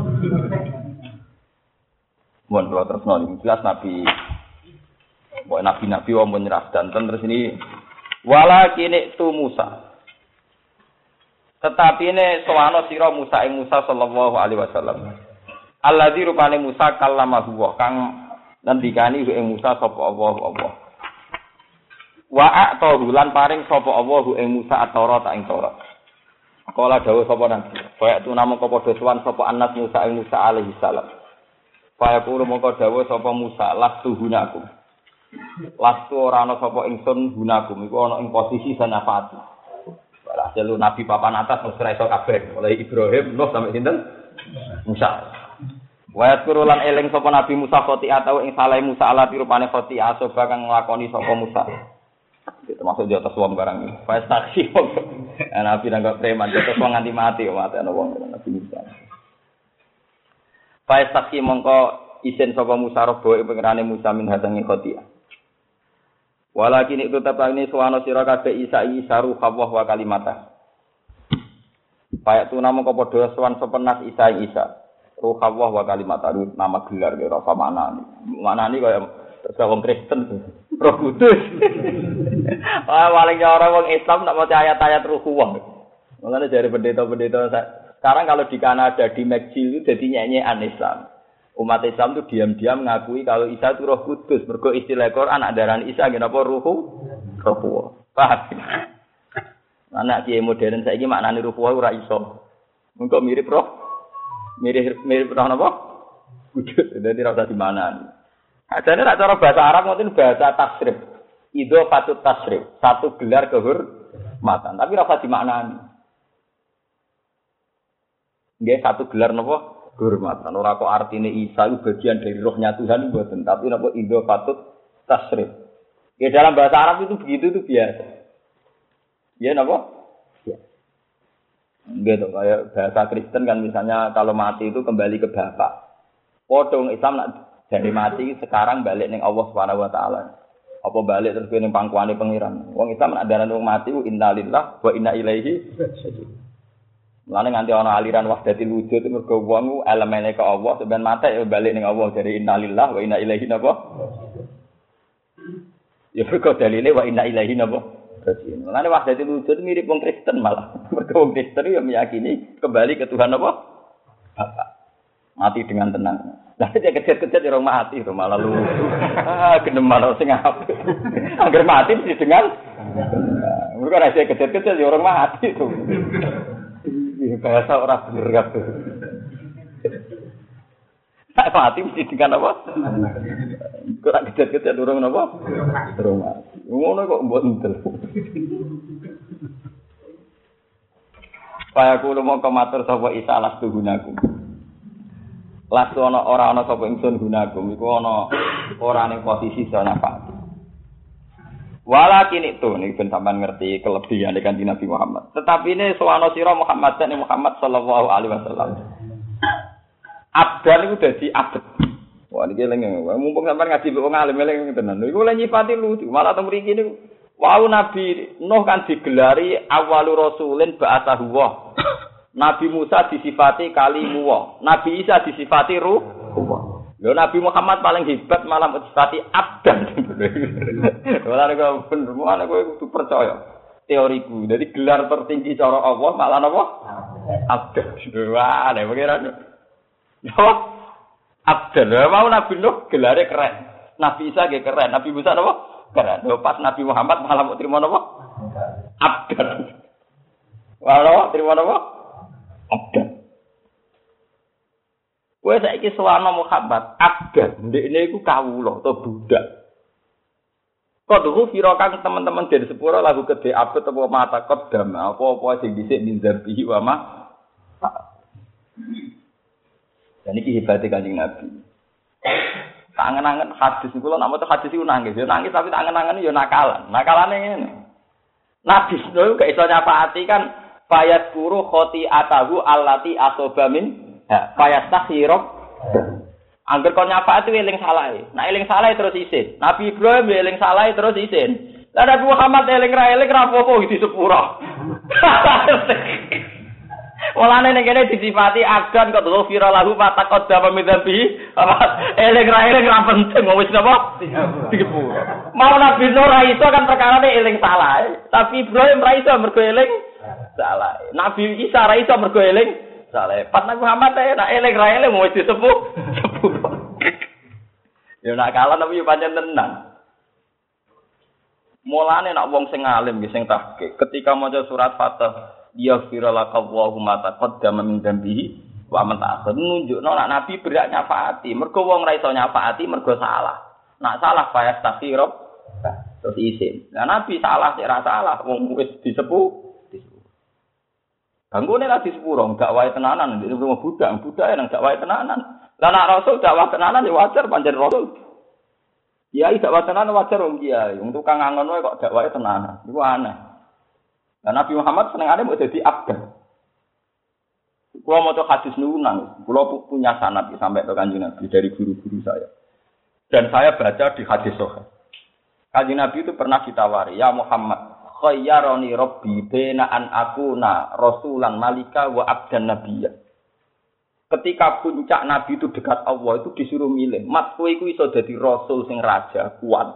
Mun kula tresno iki jelas Nabi. Mbok nabi-nabi wong nyerah danten terus ini walakin tu Musa. Tetapi ne sowana sira Musa ing Musa sallallahu alaihi wasallam. Alladzi rupane Musa kallamahu wa kang ngendikani ing Musa sapa Allah. Wa a'tahu lan paring sapa Allah ing Musa at-Taurat ing Taurat. Kala dawuh sapa nabi, kaya tu namung padha sowan sapa anak Musa ing Musa alaihi salam. Kaya kulo mongko dawuh sapa Musa lastu gunaku. Lastu ora ana sapa ingsun gunaku iku ana ing posisi sanafati. Walhasil nabi papan atas mesti iso kabeh, mulai Ibrahim Nuh sampai sinten Musa. Wa yadkuru lan eling sapa nabi Musa khoti'ah atau ing salah Musa ala pirupane khoti'ah soba kang nglakoni sapa Musa. Termasuk di atas wong barang iki. Faiz taksi. Nabi nang preman terus wong nganti mati kok mati ana wong Nabi Musa. Faiz taksi mongko isin sapa Musa robo ing pengerane Musa min hadangi khoti'ah. Walakin itu tetapane suwana sira kabeh Isa ruh Allah wa kalimatah. Payak tu namung padha sowan sepenas Isa. Ruh Allah wa kalimatah nama gelar kaya apa maknane. Maknane kaya wong Kristen. Roh Kudus. Paling orang wong Islam nak maca ayat-ayat Ruh Allah. Makanya dari pendeta-pendeta sekarang kalau di Kanada di McGill itu jadi nyanyian Islam. Umat Islam itu diam-diam mengakui kalau Isa itu Roh Kudus. Mergo istilah Quran adaran Isa kenapa Ruhu? Ruh. Paham? Anak kiai modern saiki maknane Ruh ora iso. Engko mirip roh. Mirip roh napa? Kudus. Dadi ora usah dimanani. Adane nek cara bahasa Arab ngoten bahasa tasrif. Idhofatut tasrif, satu gelar kehormatan, tapi ora usah dimaknani. Nggih satu gelar napa? Kehormatan. Ora kok artine Isa itu bagian dari rohnya Tuhan mboten, tapi napa idhofatut tasrif. Ya dalam bahasa Arab itu begitu itu biasa. Ya napa? Ya. Gitu kayak bahasa Kristen kan misalnya kalau mati itu kembali ke bapak. Podong Islam nak jadi mati sekarang balik ning Allah Subhanahu wa taala. Apa balik terus ning pangkuane pangeran. Wong Islam nak darani wong mati ku innalillahi wa inna ilaihi raji'un. Mulane nganti ana aliran wahdatil wujud mergo wong elemene ke Allah sampeyan mate ya balik ning Allah jadi innalillahi wa inna ilaihi napa? Ya mergo dalile wa inna ilaihi napa? Raji'un. Mulane wahdatil wujud mirip wong Kristen malah. Mergo wong Kristen ya meyakini kembali ke Tuhan apa? Bapa. Mati dengan tenang. Lah dia kejar-kejar orang mati itu malah lu. Genem malah sing apik. Angger mati mesti dengan. Mergo ora dia kejar-kejar orang mati itu. Bahasa orang bener kabeh. Mati mesti dengan apa? Kok ora kejar-kejar orang napa? Orang mati. Ngono kok mbok entel. Kaya kulo mongko matur sapa Isa lastu gunaku. Lastu ora ana sapa ingsun gunakum iku ana ora ning posisi sanafat. Walakin itu nek ben sampean ngerti kelebihan Kanjeng Nabi Muhammad. Tetapi ini sowana sira Muhammad sallallahu alaihi wasallam. Abdan iku dadi abad. Wah niki eling mumpung sampean ngaji wong alim eling tenan. Iku lha nyipati lucu. Malah teng mriki niku wau Nabi Nuh kan digelari awwalu rasulin ba'atsahu wa. Nabi Musa disifati kalimu, Nabi Isa disifati ruh. Lho Nabi Muhammad paling hebat malah disifati abdan. Ora nek bener, ana kowe kudu percaya teoriku. Jadi gelar tertinggi cara Allah malah napa? Abdan. Wah, nek pengiran. Yo, abdan. Mau Nabi Nuh gelare keren. Nabi Isa ge keren. Nabi Musa napa? Karena pas Nabi Muhammad malah mau terima napa? Abdan. Walau terima napa? Abdan. Kowe saiki sowana Muhammad, abdan. Ndekne iku kawula atau budak. Kodhu firokan teman-teman dari sepuro lagu gede abet apa mata kodam apa-apa sing dhisik min zambihi wa ma. Dan iki hebate Kanjeng Nabi. Tangan-tangan hadis iku lho nek maca hadis iku nangis. Ya nangis tapi tangan-tangan yo nakalan. Nakalane ngene. Nabi lho gak iso nyafaati kan fayat guru khoti'atahu allati asoba min fayastakhirab. Angger kon nyafaati eling salahe. Nek eling salahe terus isin. Nabi Ibrahim eling salahe terus isin. Lah Nabi Muhammad eling ra apa-apa di sepuro. Mulane nek kene disifati agan kok ghafira lahu ma taqaddama min dhanbi. Eling ra penting wis napa? Sepuro. Mau Nabi Nuh ra iso kan perkarane eling salahe. Tapi Ibrahim ra iso mergo eling salahe. Nabi Isa ra iso mergo eling saleh. Pas Nabi Muhammad nek eling ra eling wis disepuh. Ya nak kalah tapi yo pancen tenan. Mulane nak wong sing alim nggih sing tahqiq ketika maca surat Fatah yaghfir lakallahu ma taqaddama min dzambihi wa man ta'akhkhar nunjukno nak nabi berak nyafaati. Mergo wong ra iso nyafaati mergo salah. Nak salah fayastaghfirub terus isin. Lah nabi salah sik ra salah wong wis disepuh. Banggune lah disepuro, gak wae tenanan, ndek rumah budak nang gak wae tenanan. Lah nek rasul dakwah tenanan ya wajar pancen rasul. Kiai dakwah tenanan wajar wong kiai, wong tukang ngangon wae kok dakwahe tenanan. Iku aneh. Lah Nabi Muhammad senengane mau dadi abdan. Kula maca hadis niku nang, kula punya sanad sampai ke Kanjeng Nabi dari guru-guru saya. Dan saya baca di hadis sahih. Kanjeng Nabi itu pernah ditawari, "Ya Muhammad, khayyarani rabbi baina an akuna rasulan malika wa abdan nabiyya." Ketika puncak nabi itu dekat Allah itu disuruh milih, "Mat kowe iku iso dadi rasul sing raja kuat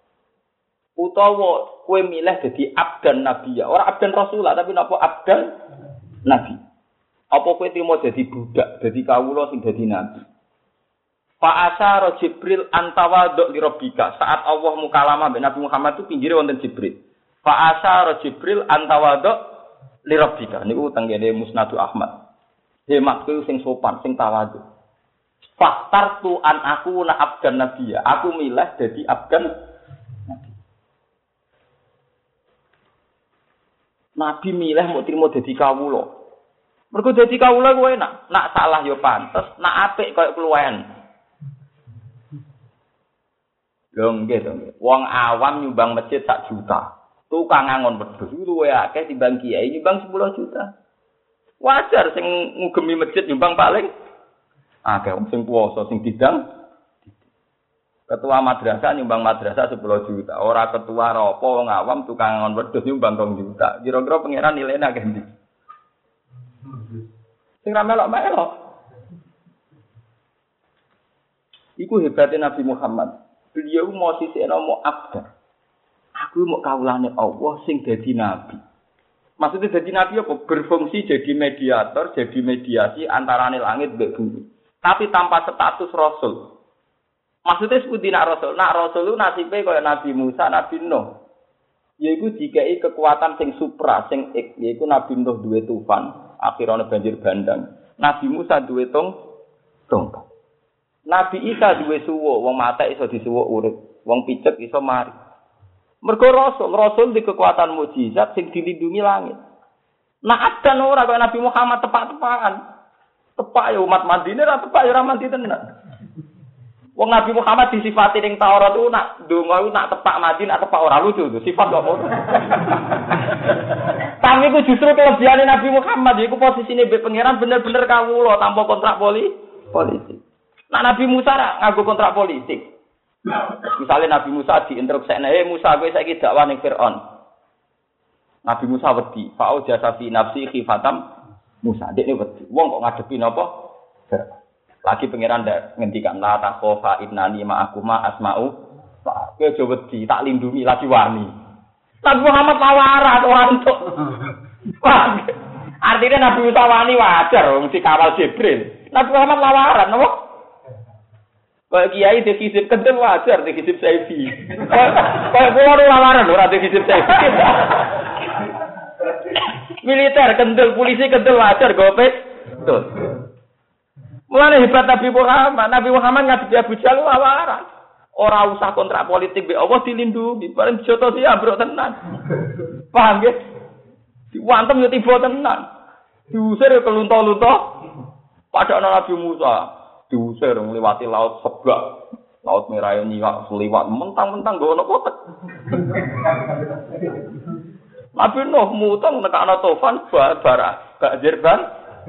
utawa kowe milih dadi abdan nabiyya." Ora abdan rasul tapi napa abdan nabi. Apa kowe trimo dadi budak, dadi kawula sing dadi nabi. Fa asyara Jibril antawadhu li rabbika. Saat Allah mukalamah mbek Nabi Muhammad itu pinggire wonten Jibril. Fa asyara Jibril antawadhu li rabbika. Niku tengene Musnadu Ahmad. Hematku sing sopan, sing tawadhu. Faktartu an aku na abdan nabiyya. Aku milih dadi abdan nabi. Nabi milih mau trimo dadi kawula. Mergo dadi kawula kuwi enak. Nak salah ya pantes, nak apik koyo kluwen. Lho nggih. Wong awam nyumbang masjid 1 juta. Tukang ngangon wedhus iku luwih akeh timbang kiai nyumbang 10 juta. Wajar sing ngugemi masjid nyumbang paling akeh wong sing puasa sing didang. Ketua madrasah nyumbang madrasah 10 juta. Ora ketua apa wong awam tukang ngangon wedhus nyumbang 2 juta. Kira-kira pangeran nilainya akeh ndi? Sing ra melok-melok. Iku hebatnya Nabi Muhammad. Beliau mau sisikno mau abdan. Aku mau kawulane Allah sing dadi nabi. Maksudnya dadi nabi apa? Berfungsi jadi mediator, jadi mediasi antarane langit mbek bumi. Tapi tanpa status rasul. Maksudnya sepundi nak rasul? Nak rasul itu nasibe kaya Nabi Musa, Nabi Nuh. Yaiku dikai kekuatan sing supra, sing yaiku Nabi Nuh duwe tufan, akhirane banjir bandang. Nabi Musa duwe tongkat. Nabi Isa duwe suwuk, wong mate iso disuwuk urip, wong picek iso mari. Mergo rasul di kekuatan mukjizat sing dilindungi langit. Nah ada ora kaya Nabi Muhammad tepak-tepakan. Tepak ya umat Madinah ra tepak ya ora mandi tenan. Wong Nabi Muhammad disifati ning Taurat itu nak ndonga nak tepak Madinah tepak ora lucu itu sifat kok ngono. Tapi itu justru kelebihane Nabi Muhammad iku posisine mbek pangeran bener-bener kawula tanpa kontrak politik. Nah Nabi Musa nganggo kontrak politik. Misalnya Nabi Musa diinterupsekne, Musa kowe saiki dakwah ning Firaun. Nabi Musa wedi, fa'u jasa fi nafsi khifatam Musa. Dekne wedi. Wong kok ngadepi napa? Lagi pangeran ndak ngendikan la takhofa innani ma'akuma asma'u. Kowe aja wedi, tak lindungi lagi wani. Nabi Muhammad lawaran ora entuk. Artinya Nabi Musa wani wajar wong dikawal Jibril. Nabi Muhammad lawaran napa? Kayak kiai dikisip kendel wajar dikisip selfie. Kayak pulau nu lamaran ora dikisip selfie. Militer kendel, polisi kendel wajar gopes. Betul. Mulane hebat Nabi Muhammad. Nabi Muhammad ngadepi Abu Jahal lamaran. Ora usah kontrak politik be Allah dilindungi. Bareng joto dia ambruk tenan. Paham nggih? Diwantem yo tiba tenan. Diusir yo kelunto-lunto. Padha Nabi Musa. Diusir ngliwati laut Sebak, laut merah nyiwak seliwat mentang-mentang nggo ana kotek. Nabi Nuh mutang nekakno tofan bara banjir ban.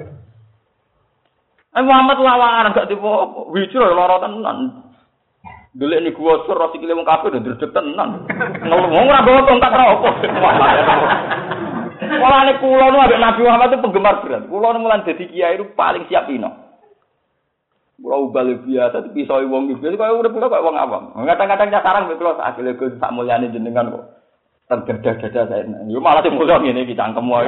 Muhammad lawaran gak tiba wijro lara tenan. Delek ni gua sur sikile wong kabeh ndredeg tenan. Ngomong ora bawa tongkat ra opo. Mulane kula nu ambek Nabi Muhammad itu penggemar berat. Kula nu mulane dadi kiai itu paling siap ino. Kula ubal biasa tapi iso wong iki kaya urip kula kaya wong awam. Kadang-kadang sarang mek kula asile Gus sak mulyane jenengan kok tergadah-gadah saya. Yo malah sing mulia ngene iki cangkem wae.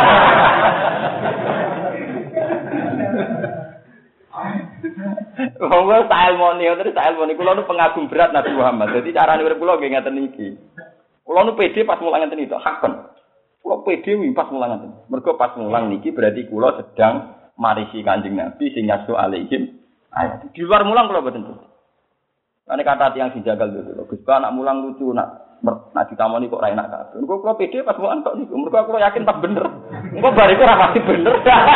Wong style moni, terus style moni kula nu pengagum berat Nabi Muhammad. Dadi carane urip kula nggih ngeten iki. Kula nu pede pas mulang ngeten iki, hakon. Kula pede pas mulang ngeten. Mergo pas mulang niki berarti kula sedang marisi Kanjeng Nabi sing nyasu alaihim. Ayat. Di luar mulang kalau betul betul. Karena kata tiang dijagal dulu. Gus anak mulang lucu nak ditamoni kok ra enak kabeh. Engko kula pede pas mulang tok niku. Mergo kula yakin pas bener. Engko bariku ora pasti bener.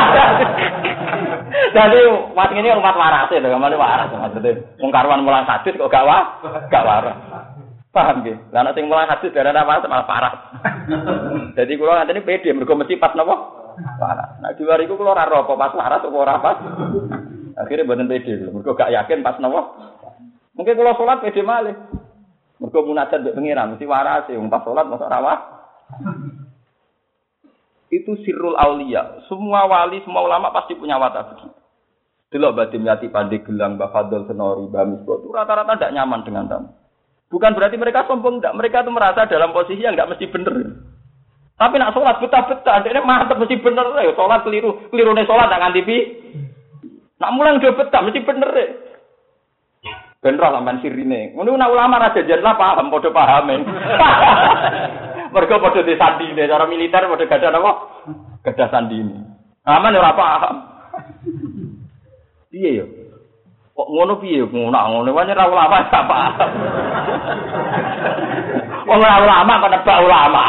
Jadi wat ngene umat waras lho, gamane waras maksudnya. Wong karuan mulang hadis kok gak waras. Paham nggih? Lah nek sing mulang hadis darane waras malah parah. Jadi kula ngateni pede mergo mesti pas napa? Waras. Nah di luar iku kula ora ro apa pas waras apa ora pas. Akhirnya mboten pede lho, mergo gak yakin pas napa. Mungkin kalau salat pede malih. Mergo munajat mbek pengiran mesti waras wong pas salat mosok ora waras. Itu sirrul aulia. Semua wali, semua ulama pasti punya watak begitu. Delok Badim Yati Pandai Gelang, Mbah Fadl Senori, Mbah Misbah itu rata-rata tidak nyaman dengan tamu. Bukan berarti mereka sombong, enggak. Mereka itu merasa dalam posisi yang enggak mesti bener. Tapi nak sholat betah-betah, dia mantep mesti bener. Sholat keliru nih sholat tak nganti pi. Nak mulang dia betah mesti bener. Bener sampean sirine. Ngono nak ulama raja jenlah paham, padha pahame. Mergo padha disandine cara militer padha gadah apa? Gadah sandine. Aman ora paham. Piye yo? Kok ngono piye ngono wae ora ulama gak paham. Wong ora ulama kok nebak ulama.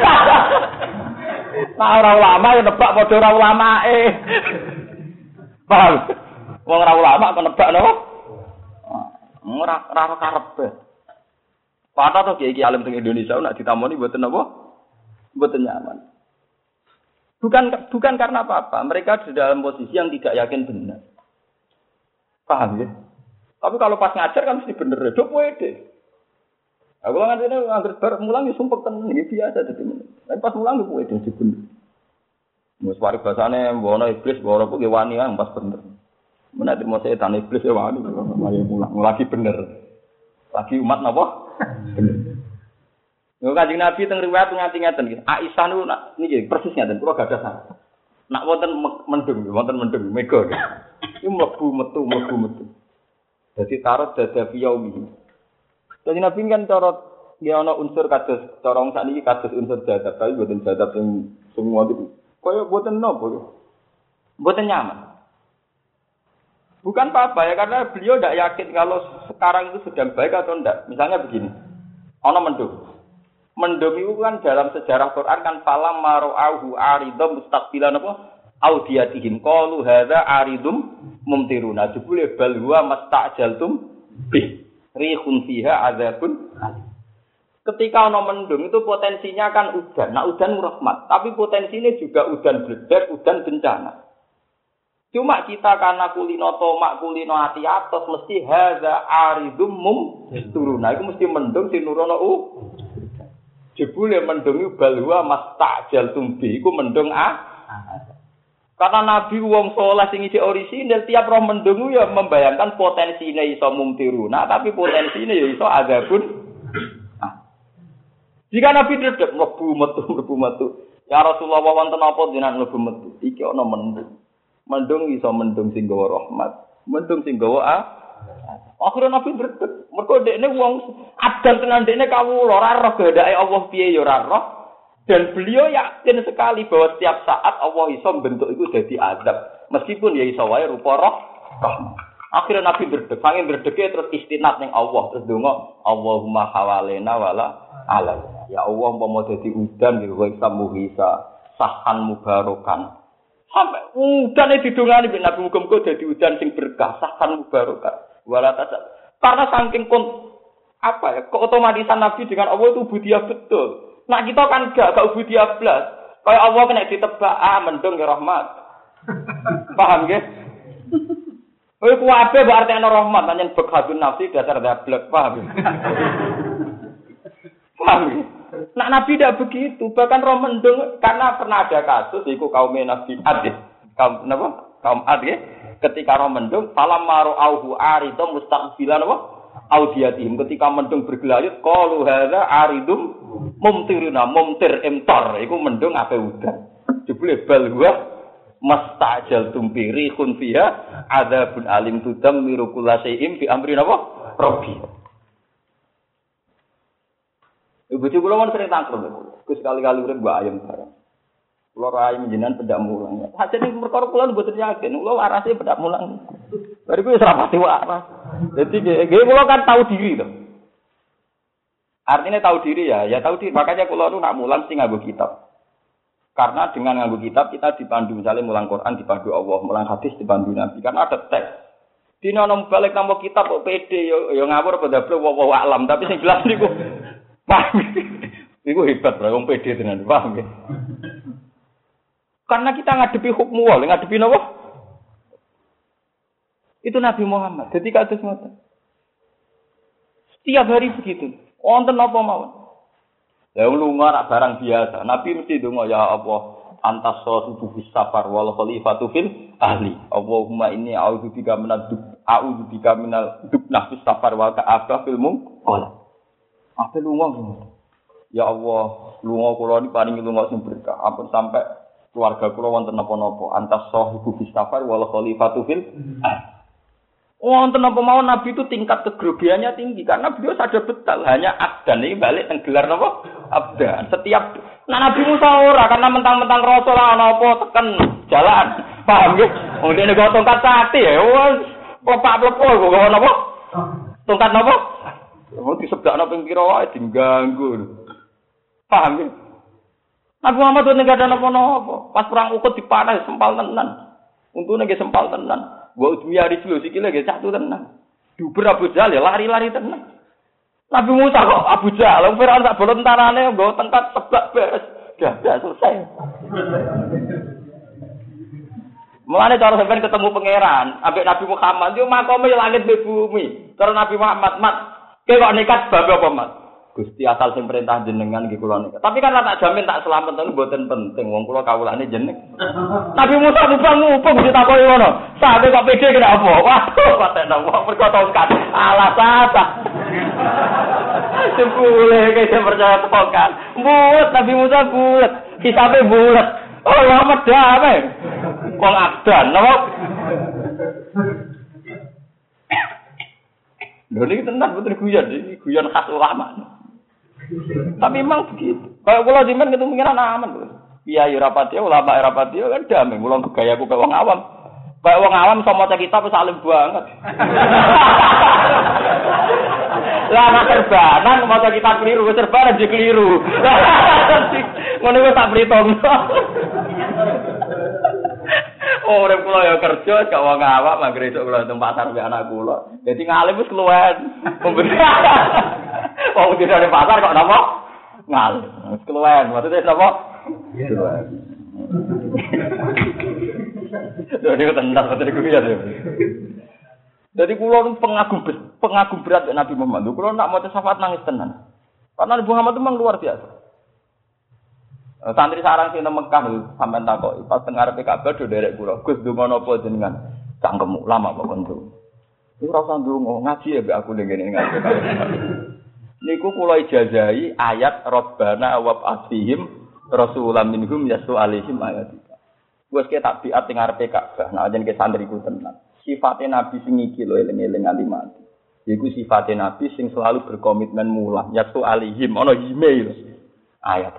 Nah ora ulama yo nebak padha ora ulamae. Paham? Wong ora ulama kok nebak napa? Ora karepe. Patah to kiai alim teng Indonesia nak ditamoni mboten napa? Mboten nyaman. Bukan karena apa-apa, mereka di dalam posisi yang tidak yakin benar. Paham ya? Tapi kalau pas ngajar kan mesti bener, do pede. Aku ngene angger bar mulang ya sumpek tenan iki biasa dadi men. Tapi pas mulang yo pede dadi bener. Mus waris basane mbono iblis mbono kok wani kan pas bener. Menawa mau setan iblis ya wani mulang lagi bener. Lagi umat napa? Bener. Yo Kanjeng Nabi teng riwayat nganti ngeten iki. Aisyah niku niki persis ngeten kula gadah sana. Nak wonten mendung mega. Iku mlebu metu. Dadi tarot dada yaumi. Dadi Nabi kan cara ya ana unsur kados cara wong sakniki kados unsur jadab tapi mboten jadab sing semua itu. Kaya mboten napa yo. Mboten nyaman. Bukan apa-apa ya karena beliau tidak yakin kalau sekarang itu sedang baik atau tidak. Misalnya begini, ana mendung. Mendung itu kan dalam sejarah Quran kan falam mara'ahu aridum mustaqbilan apa? Audiyatihim qalu hadza aridum mumtiruna. Jebule bal huwa mastajaltum bih. Rihun fiha adzabun alim. Ketika ana mendung itu potensinya kan udan. Nah udan rahmat, tapi potensinya juga udan bledak, udan bencana. Cuma kita karena kulino tomak kulino hati atos mesti hadza aridum mumtiruna. Iku mesti mendung sing nurono jebule mendung iku balwa mastajaltum bih. Iku mendung Karena Nabi wong saleh sing isih orisinil tiap roh mendung ya membayangkan potensine iso mumtiruna tapi potensine ya iso adzabun. Jika Nabi dedek mlebu metu. Ya Rasulullah wonten apa jenengan mlebu metu? Iki ana mendung. Mendung iso mendung sing gawa rahmat. Mendung sing gawa Akhirnya Nabi berdek. Mergo dekne wong adan tenan dekne kawula ora roh kehendake Allah piye ya ora roh. Dan beliau yakin sekali bahwa setiap saat Allah iso bentuk itu jadi azab. Meskipun ya iso wae rupa roh. Akhirnya Nabi berdek, saking berdeke terus istinad ning Allah, terus donga Allahumma hawalena wala alal. Ya Allah umpama dadi udan ya iso muhisa, sahan mubarakan. Sampai udane didongani mbek Nabi muga-muga dadi udan sing berkah, sahan mubarakan. Wala tasab. Karena saking keotomatisan Nabi dengan Allah itu ubudiyah betul. Nah kita kan gak ubudiyah blas. Kayak Allah kena ditebak, mendung ya rahmat. Paham nggih? Kowe kuwabe berarti ana rahmat, pancen bekhadun nafsi dasar dablek, paham? Paham? Nah Nabi tidak begitu, bahkan roh mendung karena pernah ada kasus iku kaum Nabi Ad. Kaum napa? Kaum Ad ya. Ketika roh mendung, falam maru auhu aridum mustaqbilan apa? Audiyatihim ketika mendung bergelayut qalu hadza aridum mumtiruna mumtir imtar iku mendung ape udan. Jebule bal huwa mastajal tumpiri khun fiha adzabun alim tudammiru kullasyai'in bi amri napa? Rabbi. Ibu kula mon sering tangkrut. Gus kali-kali urip mbak ayam bareng. Kula rai menjenan pedak mulang. Hajene perkara kula mboten yakin, kula warase pedak mulang. Bariku wis ra pati waras. Dadi nggih kula kan tahu diri to. Artinya tahu diri ya tahu diri. Makanya kula nu nak mulang sing nganggo kitab. Karena dengan nganggo kitab kita dipandu misalnya mulang Quran dipandu Allah, mulang hadis dipandu Nabi. Karena ada teks. Dina nang balik nang kitab kok pede yo ngawur padha wa alam, tapi sing jelas niku paham. Niku hebat lho wong pede tenan, paham nggih. Karena kita ngadepi hukum wal, ngadepi napa? Itu Nabi Muhammad. Jadi kados ngoten. Setiap hari begitu. Wonten apa mawon. Ya lunga rak barang biasa. Nabi mesti donga ya Allah, antas sahibu bis safar wal khalifatu fil ahli. Allahumma inni a'udzubika minal dubnah bis safar wa ka'abah fil mungqal. Apa lunga? Ya Allah, lunga kula niki paringi lunga sing berkah. Ampun sampai keluarga kula wonten napa-napa antas sahibu bis safar wal khalifatu fil wonten napa mawon Nabi itu tingkat kegrogiannya tinggi karena beliau sadar betul hanya abdan iki balik teng gelar napa abdan setiap Nabi Musa ora karena mentang-mentang rasul ana apa teken jalan paham nggih wong dene kok tongkat sakti ya wis plepak-plepok kok napa tongkat napa wong disebdakno ping pira wae diganggu paham nggih Nabi Muhammad itu nggak ada apa-apa. Pas perang Uhud dipanah sempal tenan. Untune nggih sempal tenan. Wa udmiyari dulu sikile nggih satu tenan. Duber Abu Jahal ya lari-lari tenan. Nabi Musa kok Abu Jahal Firaun sak bolon tentarane nggo tengkat tebak beres. Dah selesai. Mulane cara sampeyan ketemu pangeran, ambek Nabi Muhammad yo makome langit be bumi. Cara Nabi Muhammad, "Mat, kowe kok nekat bab apa, Mat?" Gusti asal sing perintah jenengan nggih kula nek. Tapi kan tak jamin tak selamat niku mboten penting. Wong kula kawulane jeneng. Nabi Musa mubang-mubang ditakoki ngono. Sampe kok pede kena apa? Waduh, paten wong perkara tongkat. Alah sasa. Sepule ke percaya tongkat. Bulet Nabi Musa bulet. Hisabe bulet. Oh, ya medame. Wong abdan, napa? Lho niki tenan betul guyon khas ulama. Tapi memang begitu. Kalau kula jimen ketemu pengiran aman, Bro. Kiai rapati, ulama rapati kan damai. Kula gayaku kaya wong awam. Kaya wong awam sama maca kitab wis alim banget. Lah ana serbanan maca kitab keliru, serbanan jadi keliru. Ngono wis tak pritongno. Orang kula ya kerja gak wong awam anggere esuk kula nang pasar mbek anak kula. Dadi ngalim wis keluwen. Wong di pasar kok napa? Ngalim. Wis keluwen. Maksudnya napa? Keluwen. Dadi tenan betul iku ya. Dadi kula pengagum berat Nabi Muhammad. Kula nak maca syafaat nangis tenan. Karena Nabi Muhammad itu memang luar biasa. Santri sarang sing nang Mekah sampean takoki pas teng ngarepe Ka'bah do derek kula. Gus ndonga napa jenengan? Cangkemmu lama kok konco. Iku ora usah ndonga, ngaji ya mbek aku ning ngene ngaji. Niku kula ijazahi ayat Rabbana wa ba'athihim rasulam minhum yasu alaihim ayatika. Wes ke tak biat teng ngarepe Ka'bah. Nah jenenge santriku tenan. Sifate nabi sing iki lho eling-eling nganti mati. Iku sifatnya Nabi sing selalu berkomitmen mulang. Yaktu alihim, ana email ayat.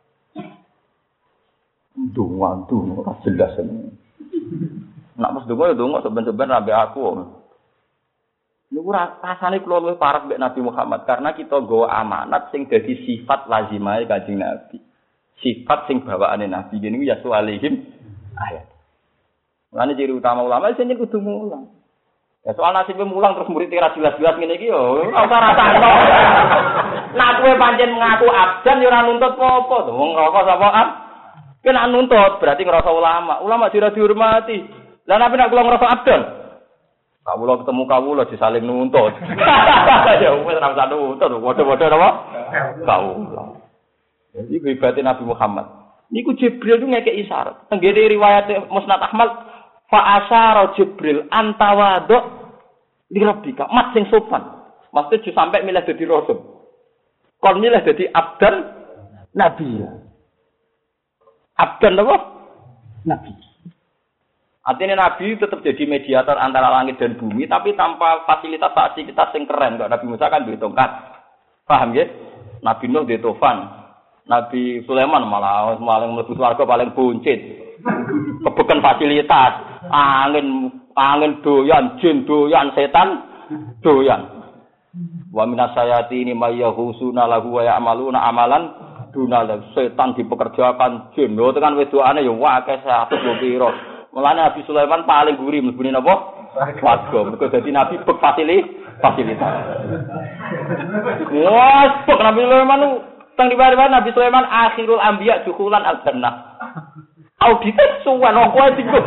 Dungan ora jelas ini. Nak mesti donga seben-seben nabi aku. Niku rasane kula luwih parek mbek Nabi Muhammad karena kita nggawa amanat sing dadi sifat lazimahe Kanjeng Nabi. Sifat sing bawaane Nabi niku yaktu alihim ayat. Lan ciri utama ulama sing kudu mulang. Ya soal nasibnya mulang terus murid ora jelas-jelas ngene iki yo ora usah rasakno. Nek kowe pancen ngaku abdan yo ora nuntut apa-apa to. Wong rokok sapa ab? Kena nuntut berarti ngerasa ulama. Ulama ora dihormati. Lah nek nek kula ngerasa abdan. Kawula ketemu kawula disaling nuntut. Ya wis ora usah nuntut, padha-padha napa? Kawula. Jadi ibadate Nabi Muhammad. Niku Jibril itu ngekek isyarat. Tenggene riwayat Musnad Ahmad fa asyara Jibril antawadu li rabbika mat sing sopan. Maksudnya sampai milih dadi rasul. Kon milih dadi abdan nabi. Abdan apa? Nabi. Artinya nabi tetap jadi mediator antara langit dan bumi tapi tanpa fasilitas yang keren. Kok Nabi Musa kan duwe tongkat. Paham ya? Nabi Nuh duwe tofan. Nabi Sulaiman malah paling mlebu swarga paling buncit. Kebeken fasilitas, angin doyan, jin doyan, setan doyan. Wa minasayati ini mayyahusuna lahu wa ya'maluna amalan dunal setan dipekerjakan jin. Lho tekan wedokane ya akeh 100 pira. Mulane Nabi Sulaiman paling gurih mlebune napa? Swarga. Mergo dadi nabi bek fasilitas. Wah, bek Nabi Sulaiman teng riwayat Nabi Sulaiman akhirul anbiya dukhulan al-jannah. Audit suwan kok tinggal.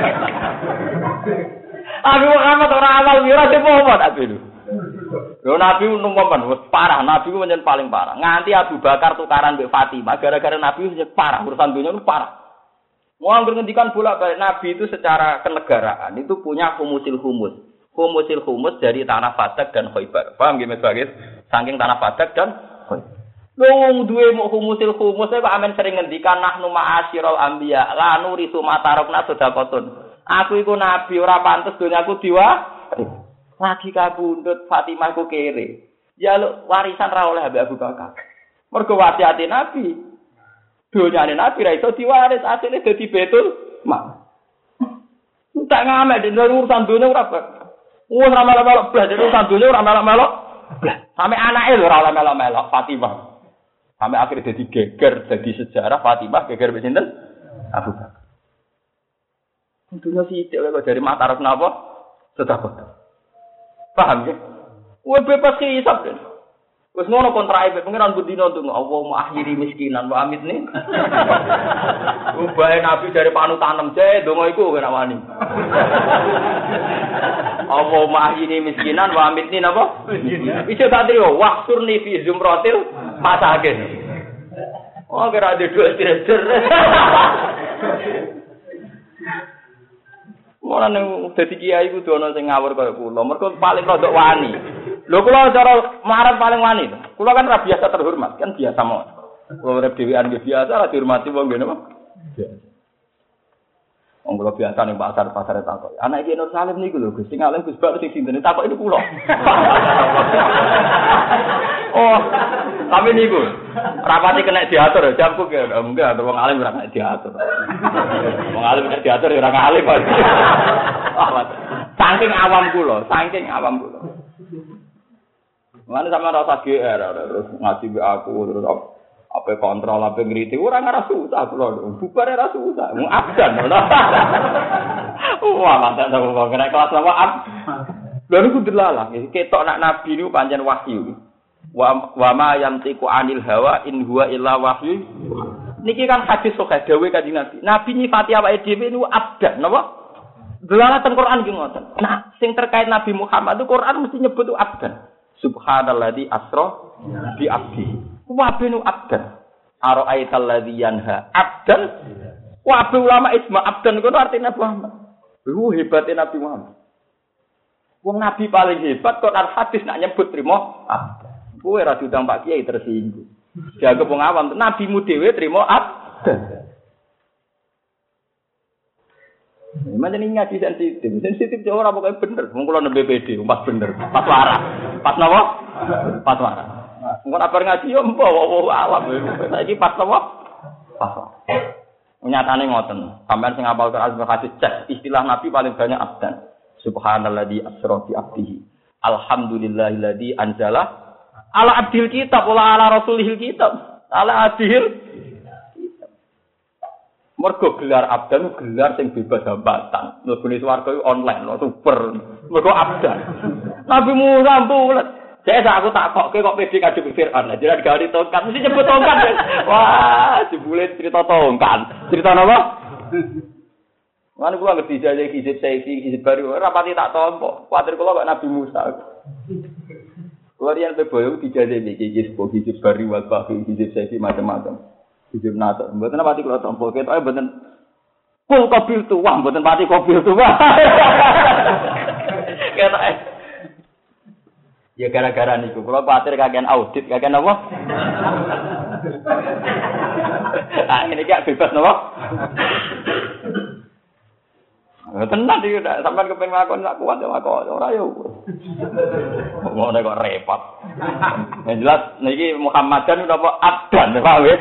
Abi Muhammad ora awal mira sepo Nabi lho. Lho Nabi numpan wis parah, Nabi ku pancen paling parah. Nganti Abu Bakar tukaran mbek Fatimah gara-gara Nabi wis parah, urusan dunia itu parah. Mau ngendikan bolak-balik Nabi itu secara kenegaraan itu punya humusil humus. Humusil humus dari tanah Fadak dan Khaibar. Paham nggih Mas Bagis? Saking tanah Fadak dan Khaibar. Wong duwe humusil humus kok amen sering ngendikan nahnu ma'asyiral anbiya la nurisu matarokna sedekatun. Aku iku nabi ora pantes donyaku diwa. Lagi kabundut Fatimah ku kere. Ya lu warisan ra oleh Abu Bakar. Mergo wasiate nabi. Donyane nabi ra iso diwaris, asline dadi betul. Mak. Tak ngamek dene urusan donya ora kok. Wong ora melok-melok blas, urusan donya ora melok-melok. Sampe anake lho ora melok-melok Fatimah. Sampai akhirnya jadi geger, jadi sejarah Fatimah geger mbek sinten? Abu Bakar. Tentunya sithik kok dari Matarak napa? Sedekah. Paham ya? Wes bebas hisab kan. Wes ngono kontrae pengiran budino ndonga Allahumma akhiri miskinan wa amitni. Ubahe Nabi dari panutan je ndonga iku ora wani. Allahumma akhiri miskinan wa amitni napa? Iso tak trio waqturni fi zumratil masakin. Oh kira ada dua trader. Ora nang dadi kiai kudu ana sing ngawur kaya kula. Mergo paling rodok wani. Lho kula cara marang paling wani. Kula kan ora biasa terhormat, kan biasa mawon. Kula urip dhewean nggih biasa ora dihormati wong ngene apa? Biasa. Wong kula biasa ning pasar-pasar takok. Anak iki Nur Salim niku lho, Gus sing alim Gus Bak sing sinten takok ini kula. Oh, tapi niku rapati kena diatur jamku ke enggak ada wong alim ora kena diatur. Wong alim kena diatur ya ora alim. Saking awam kula. Mana sama rasa GR terus ngaji be aku terus apa kontrol apa ngriti ora ngarah susah kula. Bubar ora susah. Mung abdan lho. Wah, mantap to kok kena kelas apa ab. Lha niku delalah, ketok nak nabi niku pancen wahyu. Wa ma yantiqu anil hawa in huwa illa wahyu. Niki kan hadis sahih dawuh Kanjeng Nabi. Nabi nyifati awake dhewe niku abdan napa? Delalatan Quran ki ngoten. Nah, sing terkait Nabi Muhammad itu Quran mesti nyebut itu abdan. Subhanalladzi asra bi abdi. Wa binu abdan. Ara'aital ladzi yanha abdan. Wa ulama isma abdan itu artinya Muhammad. Hebatnya Nabi Muhammad. Wong Nabi paling hebat kok hadis nak nyebut trimo abdan. Kowe ra diundang Pak Kiai tersinggung. Dianggap wong awam, nabimu dhewe trimo abdan. Macam ini ngaji sensitif jauh ora pokoke bener. Wong kula nang BPD pas bener, pas waras. Pas napa? Pas waras. Engko apa ngaji yo mbok awam. Saiki pas napa? Pas. Nyatane ngoten. Sampeyan sing hafal Quran hadis cek istilah Nabi paling banyak abdan. Subhanalladzi asra bi abdihi. Alhamdulillahilladzi anzala ala abdil kitab wala ala rasulihil kitab. Ala abdil mergo gelar abdan gelar sing bebas hambatan. Mlebune swarga iku online lho super. Mergo abdan. Nabi Musa bulet. Saya aku takokke kok pede kadhe Fir'aun. Lah jenengan gawe tongkat mesti nyebut tongkat. Wah, jebule cerita tongkat. Cerita napa? Lan kula ngerti jaje kisip baru ora pati tak tompo. Kuwatir kula kok Nabi Musa. Kula riyen beboyo dijaje iki kisip baru wal bahi kisip saiki macam-macam. Hijab nata, mboten pati kula tompo, ketoke mboten full kobil tuwa, mboten pati kobil tuwa. Ketoke. Ya gara-gara niku, kula kuwatir kakean audit, kakean apa? Ini gak bebas napa? Tenan iki sampean kepengin ngakon sak kuat ya kok ora ya. Ngono kok repot. Yang jelas niki Muhammadan napa abdan, paham ya?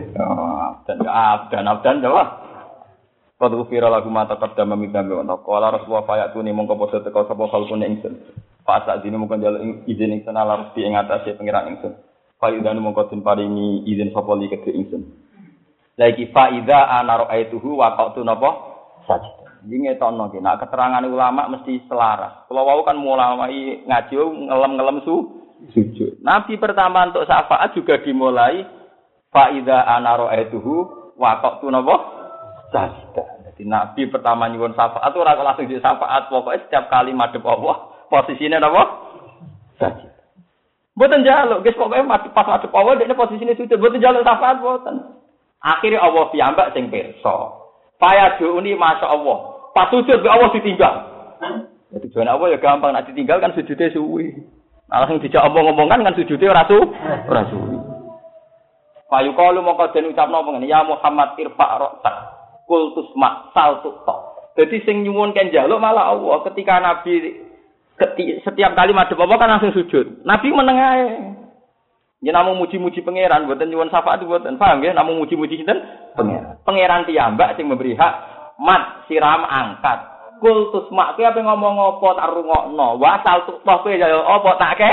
Abdan coba. Qad ghufira lakum ma taqaddama min dhanbi wa qala rasulullah fayatuni mongko padha teka sapa kalkune ingsun. Fa sa'dine mongko njaluk izin ingsun ala rusti ing atase pengiran ingsun. Fa idane mongko den paringi izin sapa li kedhe ingsun. Lagi fa idza ana ra'aituhu wa qatu napa sajid. Iki ngetokno ki nek keterangan ulama mesti selaras. Kula wau kan mulai ngaji ngelem-ngelem sujud. Nabi pertama untuk syafaat juga dimulai fa idza ana ra'aituhu wa qatu napa sajdah. Jadi Nabi pertama nyuwun syafaat ora kok langsung di syafaat, pokoke setiap kali madhep Allah posisine napa sajdah. Mboten njaluk, guys pokoke pas madhep Allah dekne posisine sujud, mboten njaluk syafaat mboten. Akhire Allah piyambak sing pirsa. Faya duuni masyaallah. Pas sujud be Allah ditinggal. Jadi tujuan Allah ya gampang, nek ditinggal kan sujude suwi. Nah, langsung dijak omong-omongan kan sujude ora suwi. Payu kalu moko den ucapno ngene ya Muhammad irfa ra'sak kultus mak saltu tok. Dadi sing nyuwun kan njaluk malah Allah ketika Nabi setiap kali madhep apa kan langsung sujud. Nabi meneng ae. Yen namung muji-muji pangeran mboten nyuwun syafaat mboten. Paham nggih? Namung muji-muji sinten? Pangeran. Pangeran piyambak sing memberi hak mat siram angkat. Kultus mak kuwi ape ngomong apa tak rungokno. Wa saltu tok kowe ya apa tak ke?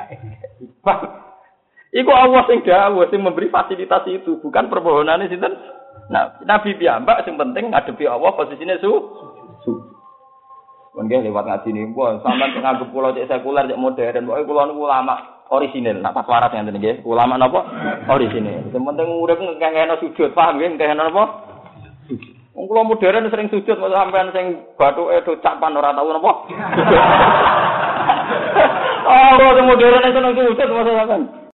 Iku Allah sing dawuh sing memberi fasilitas itu, bukan permohonane sinten. Nah, Nabi piyambak sing penting ngadepi Allah posisine su. Mungkin lewat ngaji niku sampean nganggep kula cek sekuler cek modern, pokoke kula niku ulama orisinil. Nah, pas waras ngenten nggih, ulama napa? Orisinil. Sing penting urip ngekehno sujud, paham nggih ngekehno napa? Wong kula modern sering sujud, kok sampean sing bathuke do capan ora tau napa? Oh, kula modern sing sujud masa sampean.